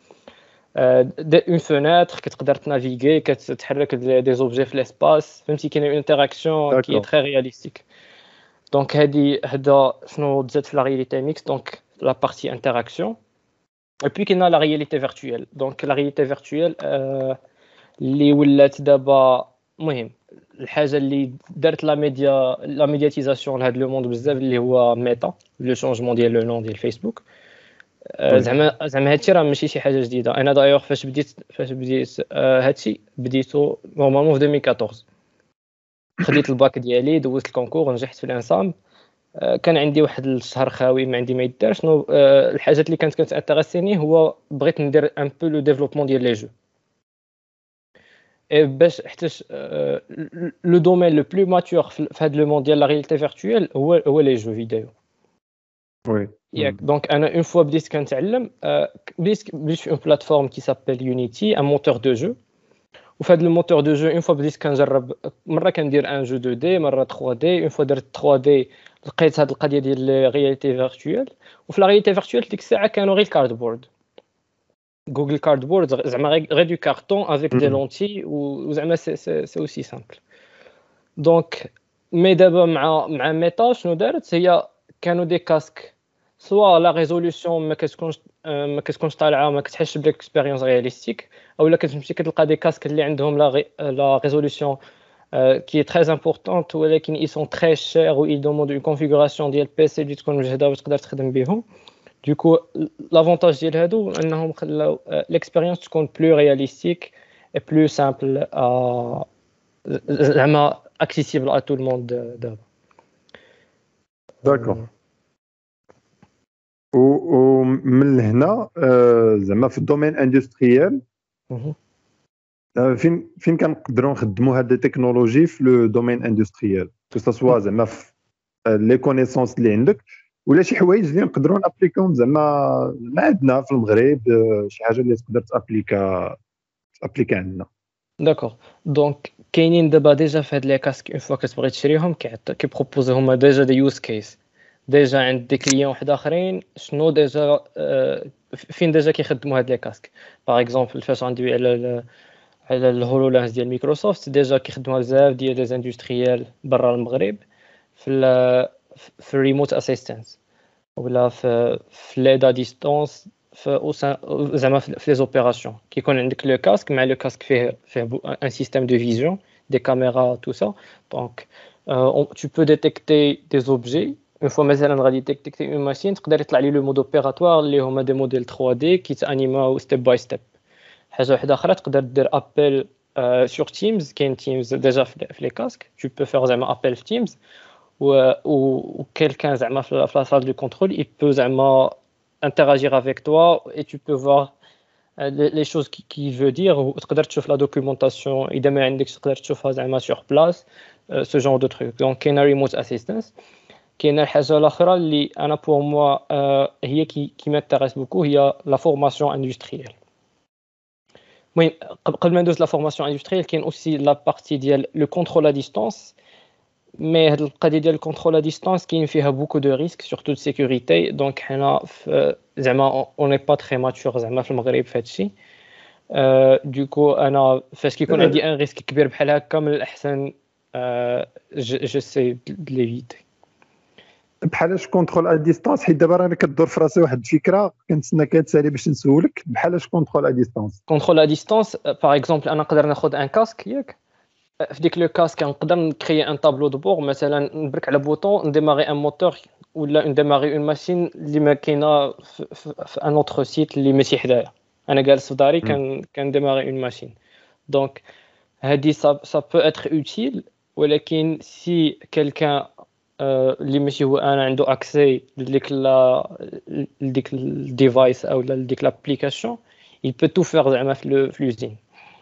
اون فوناتر كتقدر تنافيغي كتحرك دي زوبجي في ليسباس. فهمتي كاين اون انتراكسيون كي تري رياليستيك. دونك هذه هذا شنو تزاد في لا رياليتي ميكس دونك لا بارتي انتراكسيون اي بي كاينه لا رياليتي فيرتويال دونك لا رياليتي فيرتويال اللي ولات دابا مهم الحاجه اللي دارت لا ميديا لا ميدياتيزاسيون لهذا لو موند بزاف اللي هو ميتا لو شونجمون ديال لو نون ديال فيسبوك وي زعما زعما هادشي راه ماشي شي حاجه جديده انا دايوغ فاش بديت فاش بديت آه، هادشي بديتو نورمالمون في ألفين وأربعطاش خديت الباك ديالي دوزت الكونكور نجحت في الانسام آه، كان عندي واحد الشهر خاوي ما عندي ما يدار شنو آه، الحاجات اللي كانت كتانتريسيني هو بغيت ندير ان بو لو ديفلوبمون ديال لي جو اي باش حيتاش لو دومين لو بلو ماتور في هذا لو موند ديال لا رياليتي فيرتويال هو هو لي جو فيديو وي ياك دونك انا اون فوا بديت كنتعلم آه، بديت بديت في اون بلاتفورم كي سابيل يونيتي ان موتور دو جو وفي هذا الموتور دو جو اون فوا بديت كنجرب مره كندير ان جو اثنين دي مره ثلاثة دي اون فوا درت ثلاثة دي لقيت هذه القضيه ديال رياليتي فيرتويال وفي لا رياليتي فيرتويال ديك الساعه كانوا غير الكاردبورد جوجل كاردبورد زعما غير دو كارطون افيك دي لونتي وزعما سي سي سي اوسي سامبل دونك مي دابا مع مع ميتا شنو دارت هي كانوا دي كاسك سوا لا ريزوليوشن ما كتكونش ما كتكونش طالعه ما كتحسش بالاكسبيريونس رياليستيك اولا كتمشي كتلقى دي كاسك اللي عندهم لا لا ريزوليوشن qui est très importante ولكن ils sont très chers ou ils demandent une configuration ديال بي سي اللي تكون مجهده باش تقدر تخدم بهم دوكو لافونتاج ديال هادو انهم خلاو ليكسبيريونس تكون بلو رياليستيك اي بلو سامبل زعما اكسيسيبل ا تو الموند دابا داكور ومن هنا آه، زعما في الدومين اندستريال فين فين كنقدروا نخدموا هاد التكنولوجي في لو دومين اندستريال كو سوا زعما في لي كونيسونس اللي عندك ولا شي حوايج اللي نقدروا نابليكاهم زعما ما عندنا في المغرب آه، شي حاجه اللي تقدر تابليكا تابليكا عندنا داكوغ دونك كاينين دابا ديجا في هاد لي كاسك اون فوا كتبغي تشريهم كيعطي كيبروبوزي هما ديجا دي يوز كيس ديجا عند دي كليون واحد اخرين شنو ديجا آه، فين ديجا كيخدموا هاد لي كاسك باغ اكزومبل فاش غندوي على على الهولولانس ديال مايكروسوفت ديجا كيخدموا بزاف ديال لي اندستريال برا المغرب في ال في الريموت اسيستانس ولا في في ليدا ديستونس في زعما في لي زوبيراسيون كيكون عندك لو كاسك مع لو كاسك فيه فيه ان سيستيم دو فيزيون دي كاميرا تو سا دونك tu peux détecter des objets une fois مثلا غادي détecter une machine تقدر يطلع لي لو مود اوبيراتوار اللي هما دي موديل ثري دي كيتانيماو ستيب باي ستيب حاجه واحده اخرى تقدر دير ابل سور تيمز كاين تيمز ديجا في لي كاسك tu peux faire زعما ابل في تيمز و ou quelqu'un زعما في la salle de contrôle il peut زعما interagir avec toi et tu peux voir les, les choses qui, qui veut dire وتقدر تشوف la documentation اذا ما عندكش تقدر تشوفها زعما sur place ce genre de truc donc كاين remote assistance كاين الحاجه الاخرى اللي انا pour moi هي qui qui m'intéresse beaucoup هي la formation industrielle المهم قبل ما ندوز لا فورماسيون اندستريال كاين اوسي لا بارتي ديال لو كونترول ا ديستانس مي هاد القضيه ديال الكونترول ا ديستانس كاين فيها بوكو دو ريسك سورتو دو سيكوريتي دونك حنا زعما اون ني با تري ماتور زعما في المغرب في هادشي دوكو انا فاش كيكون عندي ان ريسك كبير بحال هكا من الاحسن جو سي ليفيتي بحالاش كونترول ا ديستانس حيت دابا راني كدور في راسي واحد الفكره كنتسنى كتسالي باش نسولك بحالاش كونترول ا ديستانس كونترول ا ديستانس باغ اكزومبل انا نقدر ناخذ ان كاسك ياك في ديك لو كاسك نقدر نكري ان طابلو دو بور مثلا نبرك على بوطون نديماري ان موتور ولا نديماري اون ماشين اللي ما كاينه في ان اوتر سيت اللي ماشي حدايا انا جالس في داري كان كنديماري اون ماشين دونك هادي سا سا بو اتر اوتيل ولكن سي كيلكان اللي ماشي هو انا عنده اكسي لديك لا لديك الديفايس او لديك لابليكاسيون il peut tout faire زعما في l'usine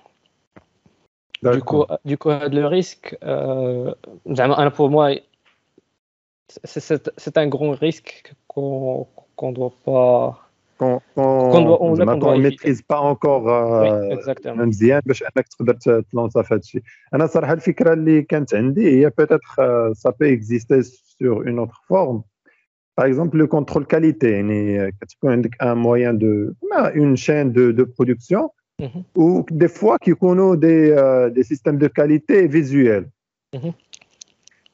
du coup du coup le risque زعما انا pour moi c'est c'est un grand risque qu'on qu'on doit pas qu'on qu'on qu'on maîtrise pas encore مزيان باش انك تقدر تلونسا في هادشي انا صراحه الفكره اللي كانت عندي هي peut-être ça peut exister sur une autre forme par exemple le contrôle qualité يعني كتكون عندك un moyen de une chaîne de de production ou des fois كيكونوا des des systèmes de qualité visuelle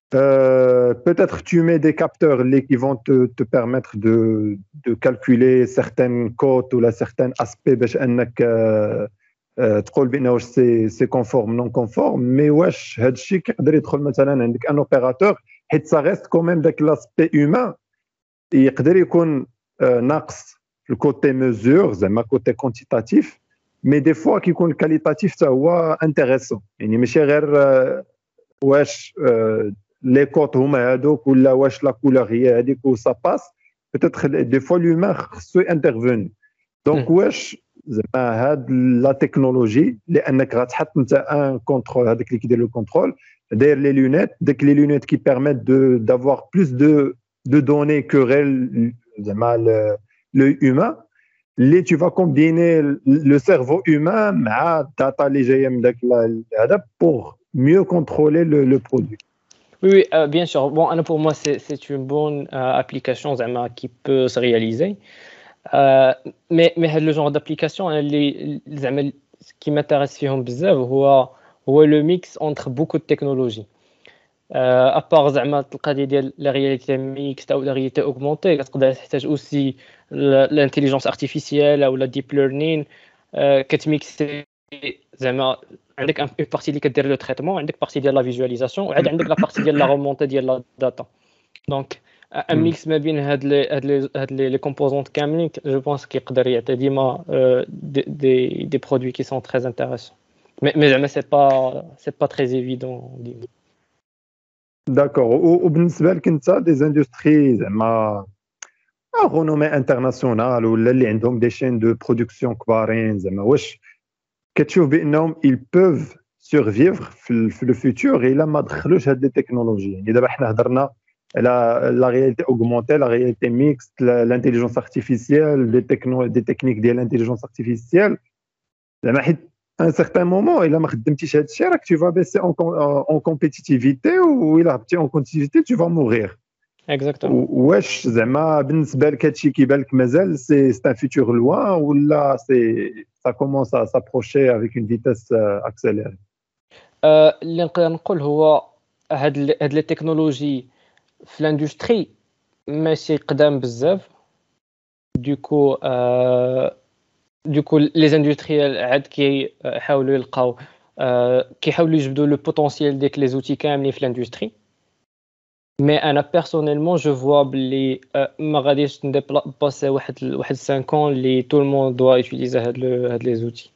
Euh, peut-être tu mets des capteurs les- qui vont te, te permettre de, de calculer certaines cotes ou là, certains aspects باش انك آه، آه، تقول بانه واش سي سي كونفورم نون كونفورم مي واش هذا الشيء كيقدر يدخل مثلا عندك ان اوبيراتور حيت سا ريست كوميم داك لاسبي هيومان يقدر يكون آه، ناقص في الكوتي ميزور زعما كوتي كونتيتاتيف مي دي فوا كيكون الكاليتاتيف حتى هو انتريسون يعني ماشي غير آه، واش آه، لي كوت هما هادوك ولا واش لا كولور هي هذيك وسا باس بوتيتر دي فوا لومان خصو انترفوني دونك واش زعما هاد لا تكنولوجي لانك غتحط انت ان كونترول هذاك اللي كيدير لو كونترول داير لي لونيت داك لي لونيت كي بيرميت دو دافوار بلوس دو دو دوني كو غير زعما لو هيومان اللي tu vas combiner le cerveau humain مع الداتا اللي جايه من داك هذا pour mieux contrôler le, le produit. Oui, oui, euh, bien sûr. Bon, Anna, pour moi, c'est c'est une bonne euh, application zama, qui peut se réaliser. Euh, mais mais le genre d'application, hein, les, zama, ce qui m'intéresse فيهم بزاف هو هو le mix entre beaucoup de technologies. Euh, à part زعما القضيه ديال la réalité mixte ou la réalité augmentée, كتقدر تحتاج aussi l'intelligence artificielle ou la deep learning euh, كتميكسي زعما عندك une partie اللي كدير لو تريتمون عندك partie ديال la visualisation وعاد عندك la partie ديال la remontée ديال la data. Donc un mix ما بين هاد لي هاد لي هاد لي composantes كاملين je pense كيقدر يعطي ديما des des produits qui sont très intéressants. Mais mais زعما c'est pas c'est pas très évident ديما. داكور وبالنسبه لك انت دي زاندستري زعما رونومي انترناسيونال ولا اللي عندهم دي شين دو برودكسيون كبارين زعما واش كتشوف بانهم ils peuvent survivre في في لو فيتور الا ما دخلوش هاد لي تكنولوجي يعني دابا حنا هضرنا على لا رياليتي اوغمونتي لا رياليتي ميكست لانتيليجونس ارتيفيسيال دي تكنو دي تكنيك ديال لانتيليجونس ارتيفيسيال زعما حيت ان سيغتان مومون الا ما خدمتيش هاد الشيء راك tu vas baisser en en compétitivité و الا هبطتي en compétitivité tu vas mourir. Exactement. واش زعما بالنسبه لك هادشي كيبان لك مازال سي سي ان فيتور لوان ولا سي ça commence à s'approcher avec une vitesse accélérée. euh, اللي نقدر نقول هو هاد ال- هاد لي تكنولوجي في الاندستري ماشي قدام بزاف دوكو آه دوكو لي زاندستريال عاد كيحاولوا يلقاو آه كيحاولوا يجبدوا لو بوتونسييل ديك لي زوتي كاملين في الاندستري. مي انا بيرسونيلمون جو فوا بلي ما غاديش نديباسي واحد واحد خمسة ans اللي تو الموند دوا يوتيليزي هاد لو هاد لي زوتي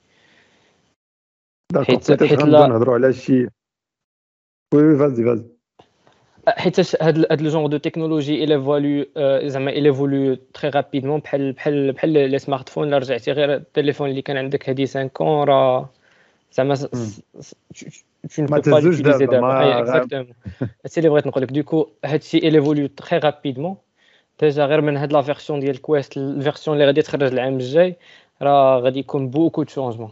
داكور حيت بيتيت حيت غنبداو لا نهضروا على شي وي فازي فازي حيت هاد هاد لو جونغ دو تكنولوجي il évolue زعما il évolue très rapidement بحال بحال بحال لي سمارت فون. لا رجعتي غير التليفون اللي كان عندك هادي خمسة ans راه زعما tu ne ما peux pas تهزوش l'utiliser دابا دابا. اي ما اكزاكتومون هادشي اللي بغيت نقول لك. دوكو هادشي il évolue très rapidement ديجا غير من هاد لا فيرسيون ديال كويست الفيرسيون اللي غادي تخرج العام الجاي راه غادي يكون بوكو دو شونجمون.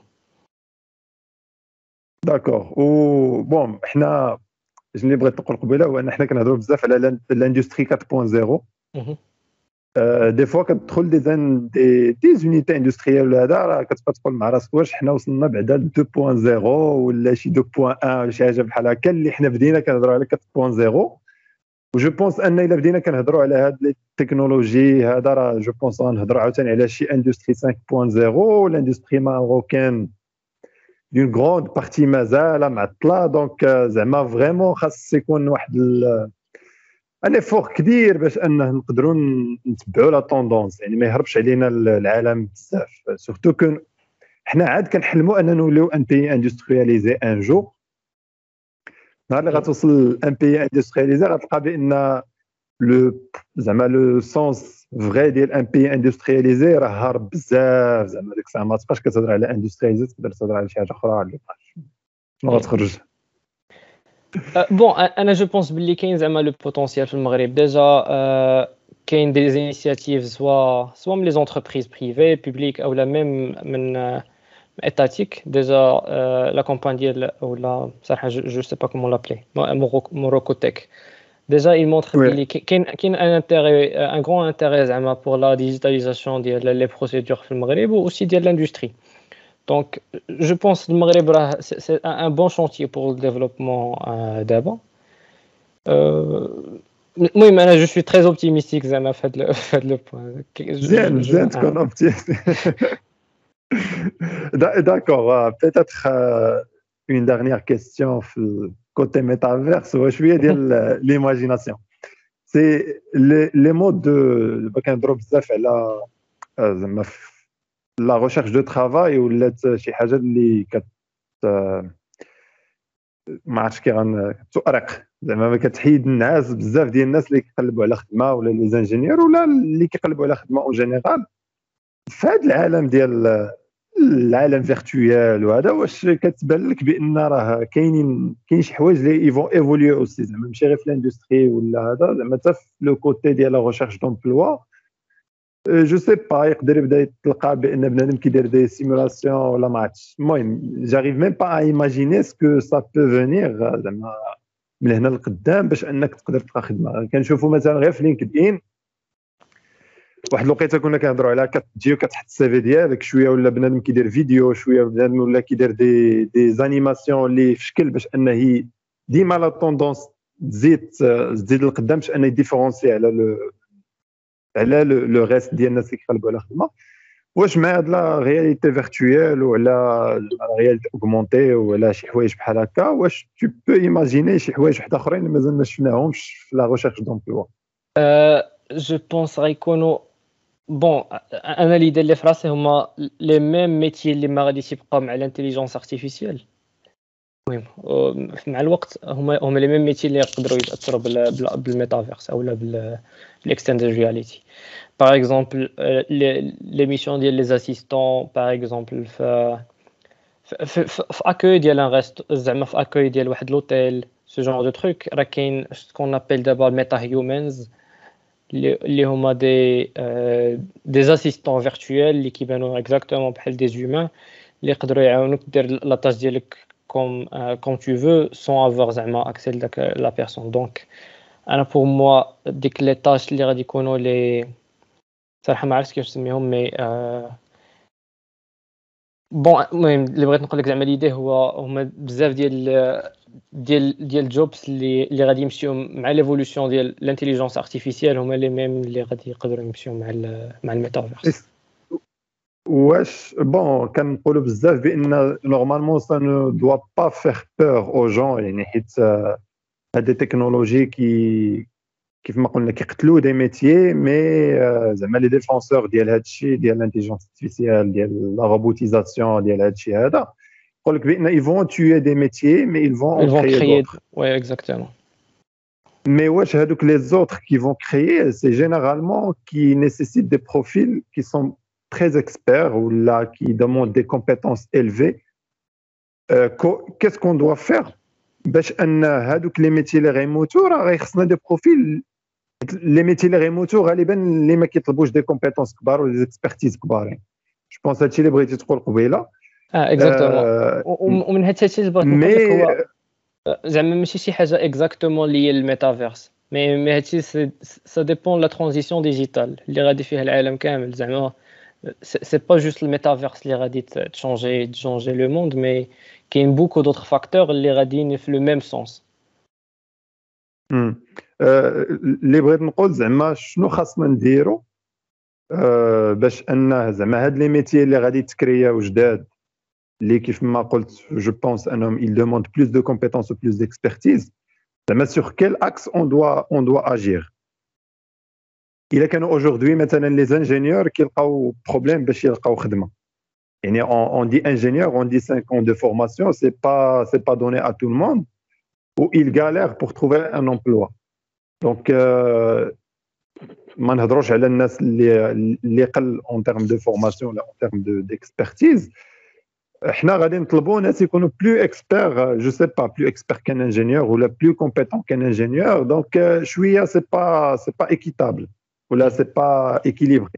داكور و بون حنا اللي بغيت نقول قبيله هو ان حنا كنهضروا بزاف على لاندستري أربعة صفر دي فوا كتدخل دي زان دي دي زونيتي اندستريال هذا راه كتبقى تقول مع راسك واش حنا وصلنا بعدا ل اثنين صفر ولا شي اثنين واحد ولا شي حاجه بحال هكا اللي حنا بدينا كنهضروا على أربعة صفر. وجو بونس ان الا بدينا كنهضروا على هاد التكنولوجي هذا راه جو بونس غنهضروا عاوتاني على شي اندستري خمسة صفر الاندستري ماروكان دون غروند بارتي مازال معطله دونك زعما فريمون خاص يكون واحد ان افور كبير باش انه نقدروا نتبعوا لا طوندونس يعني ما يهربش علينا العالم بزاف سورتو كون حنا عاد كنحلموا اننا نوليو ان بي اندسترياليزي ان جو. نهار اللي غتوصل ان بي اندسترياليزي غتلقى بان لو زعما لو سونس فغي ديال ان بي اندسترياليزي راه هارب بزاف زعما ديك الساعه ما تبقاش كتهضر على اندسترياليزي تقدر تهضر على شي حاجه اخرى اللي شنو غتخرج. بون انا جو بونس بلي كاين زعما لو بوتونسيال في المغرب ديجا كاين دي زينيسياتيف سوا سوا من لي زونتربريز بريفي بوبليك او لا ميم من étatique déjà euh, la campagne ديال ولا صراحه je sais pas comment l'appeler Morocotech déjà il montre qu'il كاين كاين un intérêt un grand intérêt زعما pour la digitalisation ديال les procédures في المغرب و aussi ديال l'industrie. Donc je pense le Maghreb c'est un bon chantier pour le développement euh, d'abord. المهم انا جو سوي تري اوبتيميستيك زعما في هذا في هذا لو بوين. مزيان مزيان تكون اوبتيميست. D'accord, peut-être euh, une dernière question في الكوتي ميتافيرس هو شويه ديال ليماجيناسيون. سي لي مود دو كنهضروا بزاف على زعما لا ريشيرش دو ترافاي ولات شي حاجه اللي كت ما عرفتش كي غنتؤرق زعما ما كتحيد الناس بزاف ديال الناس اللي كيقلبوا على خدمه ولا لي زانجينيور ولا اللي كيقلبوا على خدمه اون جينيرال في هذا العالم ديال العالم فيرتويال. وهذا واش كتبان لك بان راه كاينين كاين شي حوايج اللي ايفون ايفوليو اوسي زعما ماشي غير في الاندستري ولا هذا زعما حتى في لو كوتي ديال لا ريشيرش دومبلوا جو سي با يقدر يبدا يتلقى بان بنادم كيدير دي سيمولاسيون ولا ما عرفتش. المهم جاريف ميم با ايماجيني سكو سا بو فينير زعما من هنا لقدام باش انك تقدر تلقى خدمه. كنشوفوا مثلا غير في لينكد ان واحد الوقيته كنا كنهضروا على كتجي وكتحط السي في ديالك شويه ولا بنادم كيدير فيديو شويه بنادم ولا كيدير دي دي زانيماسيون اللي في شكل باش انه ديما لا طوندونس تزيد تزيد لقدام باش انه يديفيرونسي على لو على لو ريست ديال الناس اللي كيقلبوا على خدمه. واش مع هاد لا رياليتي فيرتويال ولا لا رياليتي اوغمونتي ولا شي حوايج بحال هكا واش تو بو ايماجيني شي حوايج واحد اخرين مازال ما شفناهمش في لا ريشيرش دومبلوا؟ جو بونس غيكونوا بون انا اللي داير لي في راسي هما لي ميم ميتي اللي ما غاديش يبقاو مع الانتيليجنس ارتيفيسيال. المهم مع الوقت هما هما لي ميم ميتي اللي يقدروا يتاثروا بالميتافيرس او بالاكستندد رياليتي. باغ اكزومبل لي ميسيون ديال لي اسيستون باغ اكزومبل في في في اكوي ديال ان ريست زعما في اكوي ديال واحد لوتيل سو جونر دو تروك راه كاين سكون ابل دابا ميتا هيومنز اللي هما دي دي اسيستون فيرتويال اللي كيبانوا اكزاكتومون بحال دي زومان اللي يقدروا يعاونوك دير لا تاج ديالك كوم كوم تو فو سون افوار زعما اكسي لداك لا بيرسون. دونك انا بور موا ديك لي تاج اللي غادي يكونوا لي صراحه ما عرفتش كيفاش نسميهم مي بون المهم اللي بغيت نقول لك زعما ليدي هو هما بزاف ديال ديال ديال الجوبس اللي اللي غادي يمشيو مع ليفولوسيون ديال الانتيليجنس ارتيفيسيال هما لي ميم اللي غادي يقدروا يمشيو مع مع الميتافيرس. واش بون كنقولوا بزاف بان نورمالمون سا نو دوا با فير بور او جون يعني حيت هاد التكنولوجي كي كيف ما قلنا كيقتلوا دي ميتيي مي زعما لي ديفونسور ديال هاد الشيء ديال الانتيليجنس ارتيفيسيال ديال لا روبوتيزاسيون ديال هاد الشيء هذا يقول لك بان ils vont tuer des métiers mais ils vont en créer d'autres. Oui exactement. Mais واش هادوك les autres qui vont créer c'est généralement qui nécessitent des profils qui sont très experts ou là qui demandent des compétences élevées. Euh, qu'est-ce qu'on doit faire باش ان هادوك لي ميتي اللي غيموتوا راه غيخصنا دي بروفيل لي ميتي اللي غيموتوا غالبا اللي ما كيطلبوش دي كومبيتونس كبار ولا دي اكسبرتيز كبارين. جو بونس هادشي اللي بغيتي تقول قبيله. اه اكزاكتومون ومن هاد الشيء اللي بغيت نقول لك هو زعما ماشي شي حاجه اكزاكتومون اللي هي الميتافيرس مي مي هادشي سا ديبون لا ترانزيسيون ديجيتال اللي غادي فيها العالم كامل. زعما سي با جوست الميتافيرس اللي غادي تشونجي تشونجي لو موند مي كاين بوكو دوطخ فاكتور اللي غاديين في لو ميم سونس. امم اللي بغيت نقول زعما شنو خاصنا نديرو باش ان زعما هاد لي ميتي اللي غادي تكرياو جداد اللي كيف ما قلت جو بونس انهم il demande plus de compétences ou plus d'expertise زعما sur quel axe on doit on doit agir. الا كانوا aujourd'hui مثلا لي زانجينيور كيلقاو بروبليم باش يلقاو خدمه يعني on, on dit ingénieur on dit cinq ans de formation c'est pas c'est pas donné à tout le monde ou il galère pour trouver un emploi. Donc euh, ما نهضروش على الناس اللي اللي قل en termes de formation ولا en termes de d'expertise. احنا غادي نطلبوا ناس يكونوا بلو اكسبير جو سي با بلو اكسبير كان انجينيور ولا بلو كومبيتون كان انجينيور. دونك شويه سي با سي با ايكيتابل ولا سي با ايكيليبري.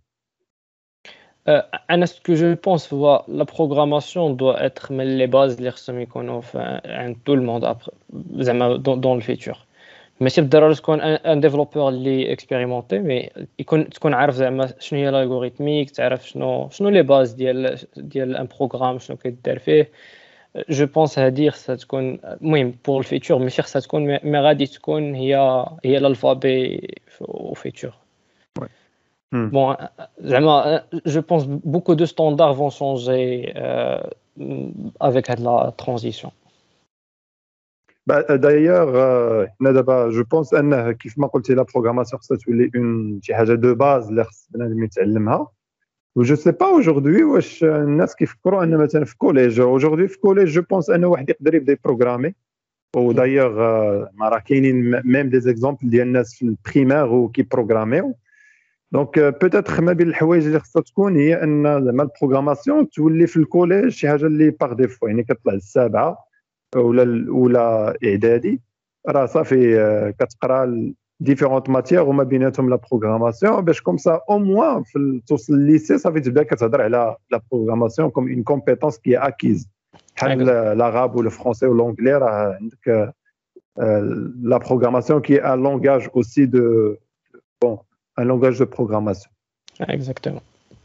انا سكو جو بونس هو لا بروغراماسيون دو اتر من لي باز اللي خصهم يكونوا عند تو الموند زعما دون الفيتور. ماشي بالضروره تكون ان ديفلوبور اللي اكسبيريمونتي مي يكون تكون عارف زعما شنو هي الالغوريثميك تعرف شنو شنو لي باز ديال ديال ان بروغرام شنو كيدار فيه جو بونس هادي خصها تكون المهم بور الفيتور ماشي خصها تكون مي مي غادي تكون هي هي الالفابي au futur. Ouais. Hmm. Bon, زعما je pense beaucoup de standards vont changer euh, avec la transition. Bah, d'ailleurs, euh, حنا دابا جو بونس انه كيف ما قلتي لا بروغراماسيون خصها تولي اون شي حاجه دو باز اللي خص بنادم يتعلمها. و جو سي با اوجوردي واش الناس كيفكروا ان مثلا في كوليج اوجوردي في كوليج جو بونس انه واحد يقدر يبدا يبروغرامي. ودايوغ ما راه كاينين ميم دي زيكزامبل ديال الناس في البريمير وكي بروغراميو. دونك بوتيتر ما بين الحوايج اللي خصها تكون هي ان زعما البروغراماسيون تولي في الكوليج شي حاجه اللي باغ ديفو، يعني كتطلع السابعه ولا ولا اعدادي راه صافي آه، كتقرا ديفيرونت ماتيير وما بيناتهم لا بروغراماسيون باش كوم سا او موان في توصل لليسي صافي تبدا كتهضر على لا بروغراماسيون كوم اون كومبيتونس كي اكيز بحال العرب والفرونسي والانجلي. راه عندك لا بروغراماسيون كي ان لونغاج اوسي دو بون ان لونغاج دو بروغراماسيون. اكزاكتومون.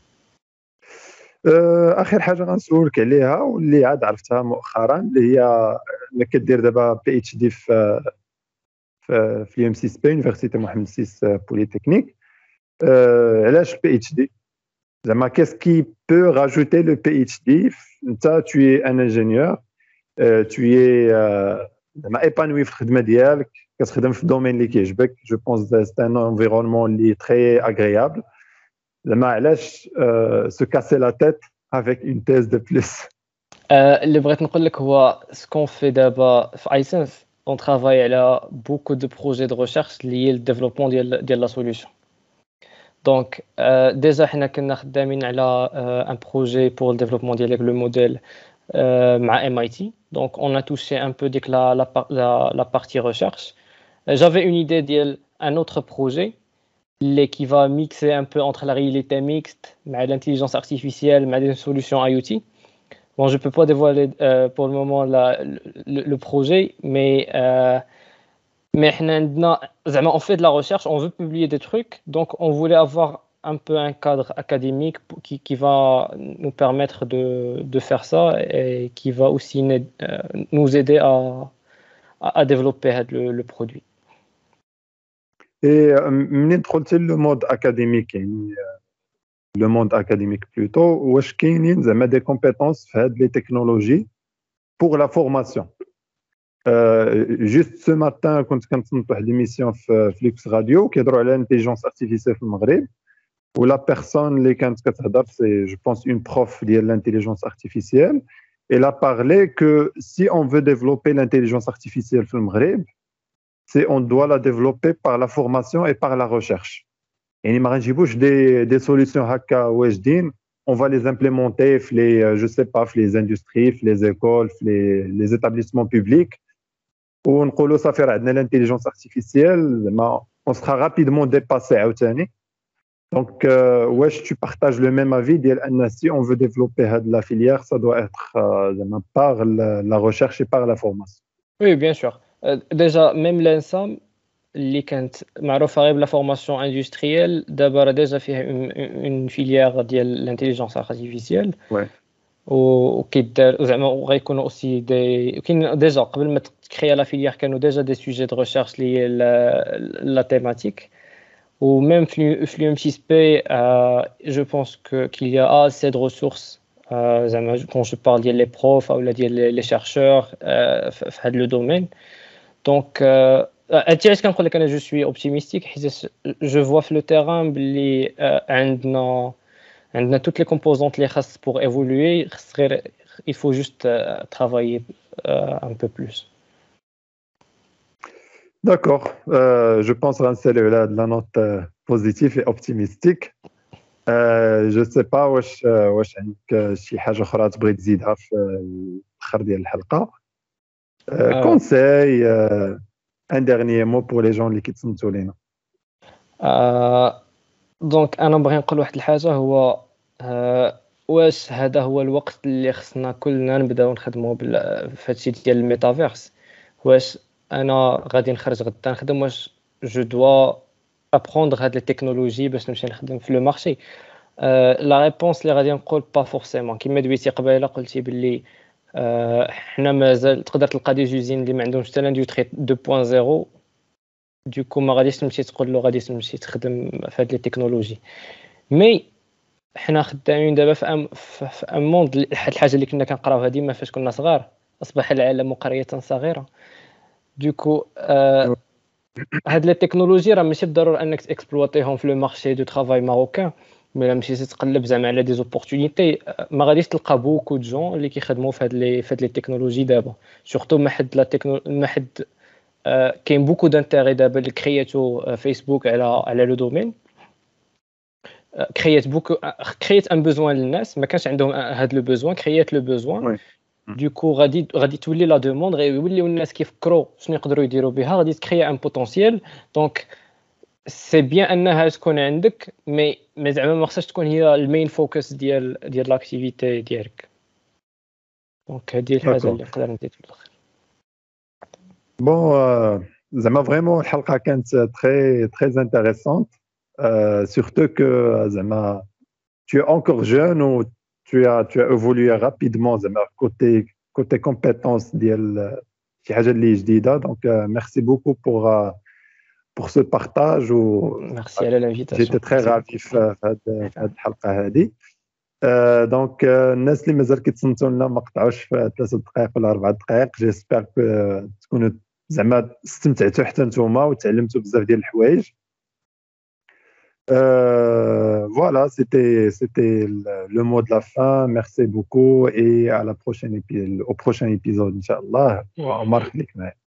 اخر حاجه غنسولك عليها واللي عاد عرفتها مؤخرا اللي هي اللي كدير دابا بي اتش دي في في في ام سي اس بي يونيفرسيتي محمد السيس بوليتكنيك. علاش البي اتش دي زعما كيس كي بو راجوتي لو بي اتش دي؟ انت tu es un ingénieur, tu es زعما ايبانوي في الخدمه ديالك، كتخدم في الدومين اللي كيعجبك. جو بونس سي ان انفيرونمون اللي تري اغريابل. زعما علاش سو كاسي لا تيت avec une thèse de plus؟ اللي بغيت نقول لك هو سكون في دابا في ايسنس اون ترافاي على بوكو دو بروجي دو ريشيرش لي ل ديفلوبمون ديال ديال لا سوليوشن. دونك ديجا حنا كنا خدامين على ان بروجي بور ل ديفلوبمون ديال لو موديل مع ام اي تي. دونك اون ا توشي ان بو ديك لا لا لا بارتي ريشيرش. جافي اون ايدي ديال ان اوتر بروجي اللي qui va mixer un peu entre la réalité mixte مع l'intelligence artificielle مع des solutions I O T. Bon, je peux pas dévoiler euh, pour le moment la, le, le projet, mais euh, mais on fait de la recherche, on veut publier des trucs, donc on voulait avoir un peu un cadre académique qui, qui va nous permettre de, de faire ça et qui va aussi nous aider à, à, à développer le, le produit. Et منين دخلتي لو مود اكاديميك يعني لو موند اكاديميك بلوتو، واش كاينين زعما دي كومبيتونس في هاد لي تكنولوجي بور لا فورماسيون؟ جوست سو ماتان كنت كنتصنت واحد ليميسيون في فليكس راديو كيهضروا على الانتيليجنس ارتيفيسيال في المغرب، ولا بيرسون اللي كانت كتهضر سي جو بونس اون بروف ديال الانتيليجنس ارتيفيسيال. Elle a parlé que si on veut développer l'intelligence artificielle في المغرب, c'est on doit la développer par la formation et par la recherche. يعني ما غنجيبوش دي دي سوليسيون هكا واجدين on va les implémenter في les je sais pas في les industries في les écoles في les les établissements publics ونقولوا صافي راه عندنا l'intelligence artificielle زعما on sera rapidement dépassé عاوتاني. Donc euh, واش tu partages le même avis ديال ان si on veut développer هاد la filière ça doit être زعما par la recherche et par la formation؟ Oui, bien sûr. Euh, déjà même l'Ensam اللي كانت معروفه غير بلا فورماسيون اندستريال دابا راه ديجا فيها اون فيليير ديال الانتيليجنس ارتيفيسيال وكيدار زعما غيكونوا اوسي دي كاين ديجا قبل ما تكريا لا فيليير كانوا ديجا دي سوجي دو ريشيرش لي لا تيماتيك ou même في l'U M C S P euh, je pense que qu'il y a assez de ressources euh, زعما quand je parle ديال les profs ou ديال les chercheurs euh, في هذا le domaine. Donc euh, انت علاش كنقول لك انا جو سوي اوبتيميستيك حيت جو فوا في لو تيران بلي عندنا عندنا toutes les composantes اللي خاص pour évoluer خاص غير il faut juste travailler un peu plus. D'accord, euh, je pense غنساليو على لا نوت بوزيتيف اي اوبتيميستيك. جو سي با واش واش عندك شي حاجه اخرى تبغي تزيدها في الاخر ديال الحلقه؟ كونساي ان ديرنيي مو بور لي جون اللي كيتصنتوا لينا. دونك انا بغي نقول واحد الحاجه هو واش هذا هو الوقت اللي خصنا كلنا نبداو نخدموا في هادشي ديال الميتافيرس؟ واش انا غادي نخرج غدا نخدم واش جو دوا ابروندر هاد لي تكنولوجي باش نمشي نخدم في لو مارشي؟ لا ريبونس اللي غادي نقول با فورسيمون. كيما دويتي قبيله قلتي باللي آه، حنا مازال تقدر تلقى دي جوزين اللي ما عندهمش حتى لاندستري اثنين نقطة صفر، دوكو ما غاديش تمشي تقول له غادي تمشي تخدم في هاد لي تكنولوجي. مي حنا خدامين دابا في ام في في ام موند، واحد الحاجه اللي كنا كنقراوها ديما فاش كنا صغار، اصبح العالم قريه صغيره. دوكو آه هاد لي تكنولوجي راه ماشي بالضروره انك تاكسبلواتيهم في لو مارشي دو ترافاي ماروكان، مي لا مشيتي تقلب زعما على دي زوبورتونيتي ما غاديش تلقى بوكو دو جون اللي كيخدموا في هاد لي في هاد لي تكنولوجي دابا، سورتو ما حد لا تكنو ما حد آه كاين بوكو دانتيغي دابا اللي كرياتو آه فيسبوك على على لو دومين، كريات بوكو كريات ان بوزوان للناس ما كانش عندهم هاد لو بوزوان، كريات لو بوزوان. وي دوكو غادي غادي تولي لا دوموند، غيوليو الناس كيفكروا شنو يقدروا يديروا بها، غادي تكريا ان بوتونسييل. دونك سي بيان انها تكون عندك، مي مي زعما ما خصهاش تكون هي المين فوكس ديال ديال لاكتيفيتي ديالك. دونك هذه الحاجه اللي نقدر نزيد في الاخر. بون زعما فريمون الحلقه كانت تري تري انتريسونت، surtout que زعما tu es encore jeune ou tu as tu as évolué rapidement زعما côté côté compétences ديال شي حاجه اللي جديده. دونك merci beaucoup pour pour ce partage و ميرسي على لانفيتاسيون. j'étais très ravi في هاد في هاد الحلقه هذه. دونك الناس اللي مازال كيتصنتوا لنا ما قطعوش في ثلاثة دقائق ولا أربعة دقائق، جيسبر تكونوا زعما استمتعتوا حتى نتوما وتعلمتوا بزاف ديال الحوايج. Euh, voilà, c'était c'était le, le mot de la fin. Merci beaucoup et à la prochaine épi- au prochain épisode, Inch'Allah. Omar khlik.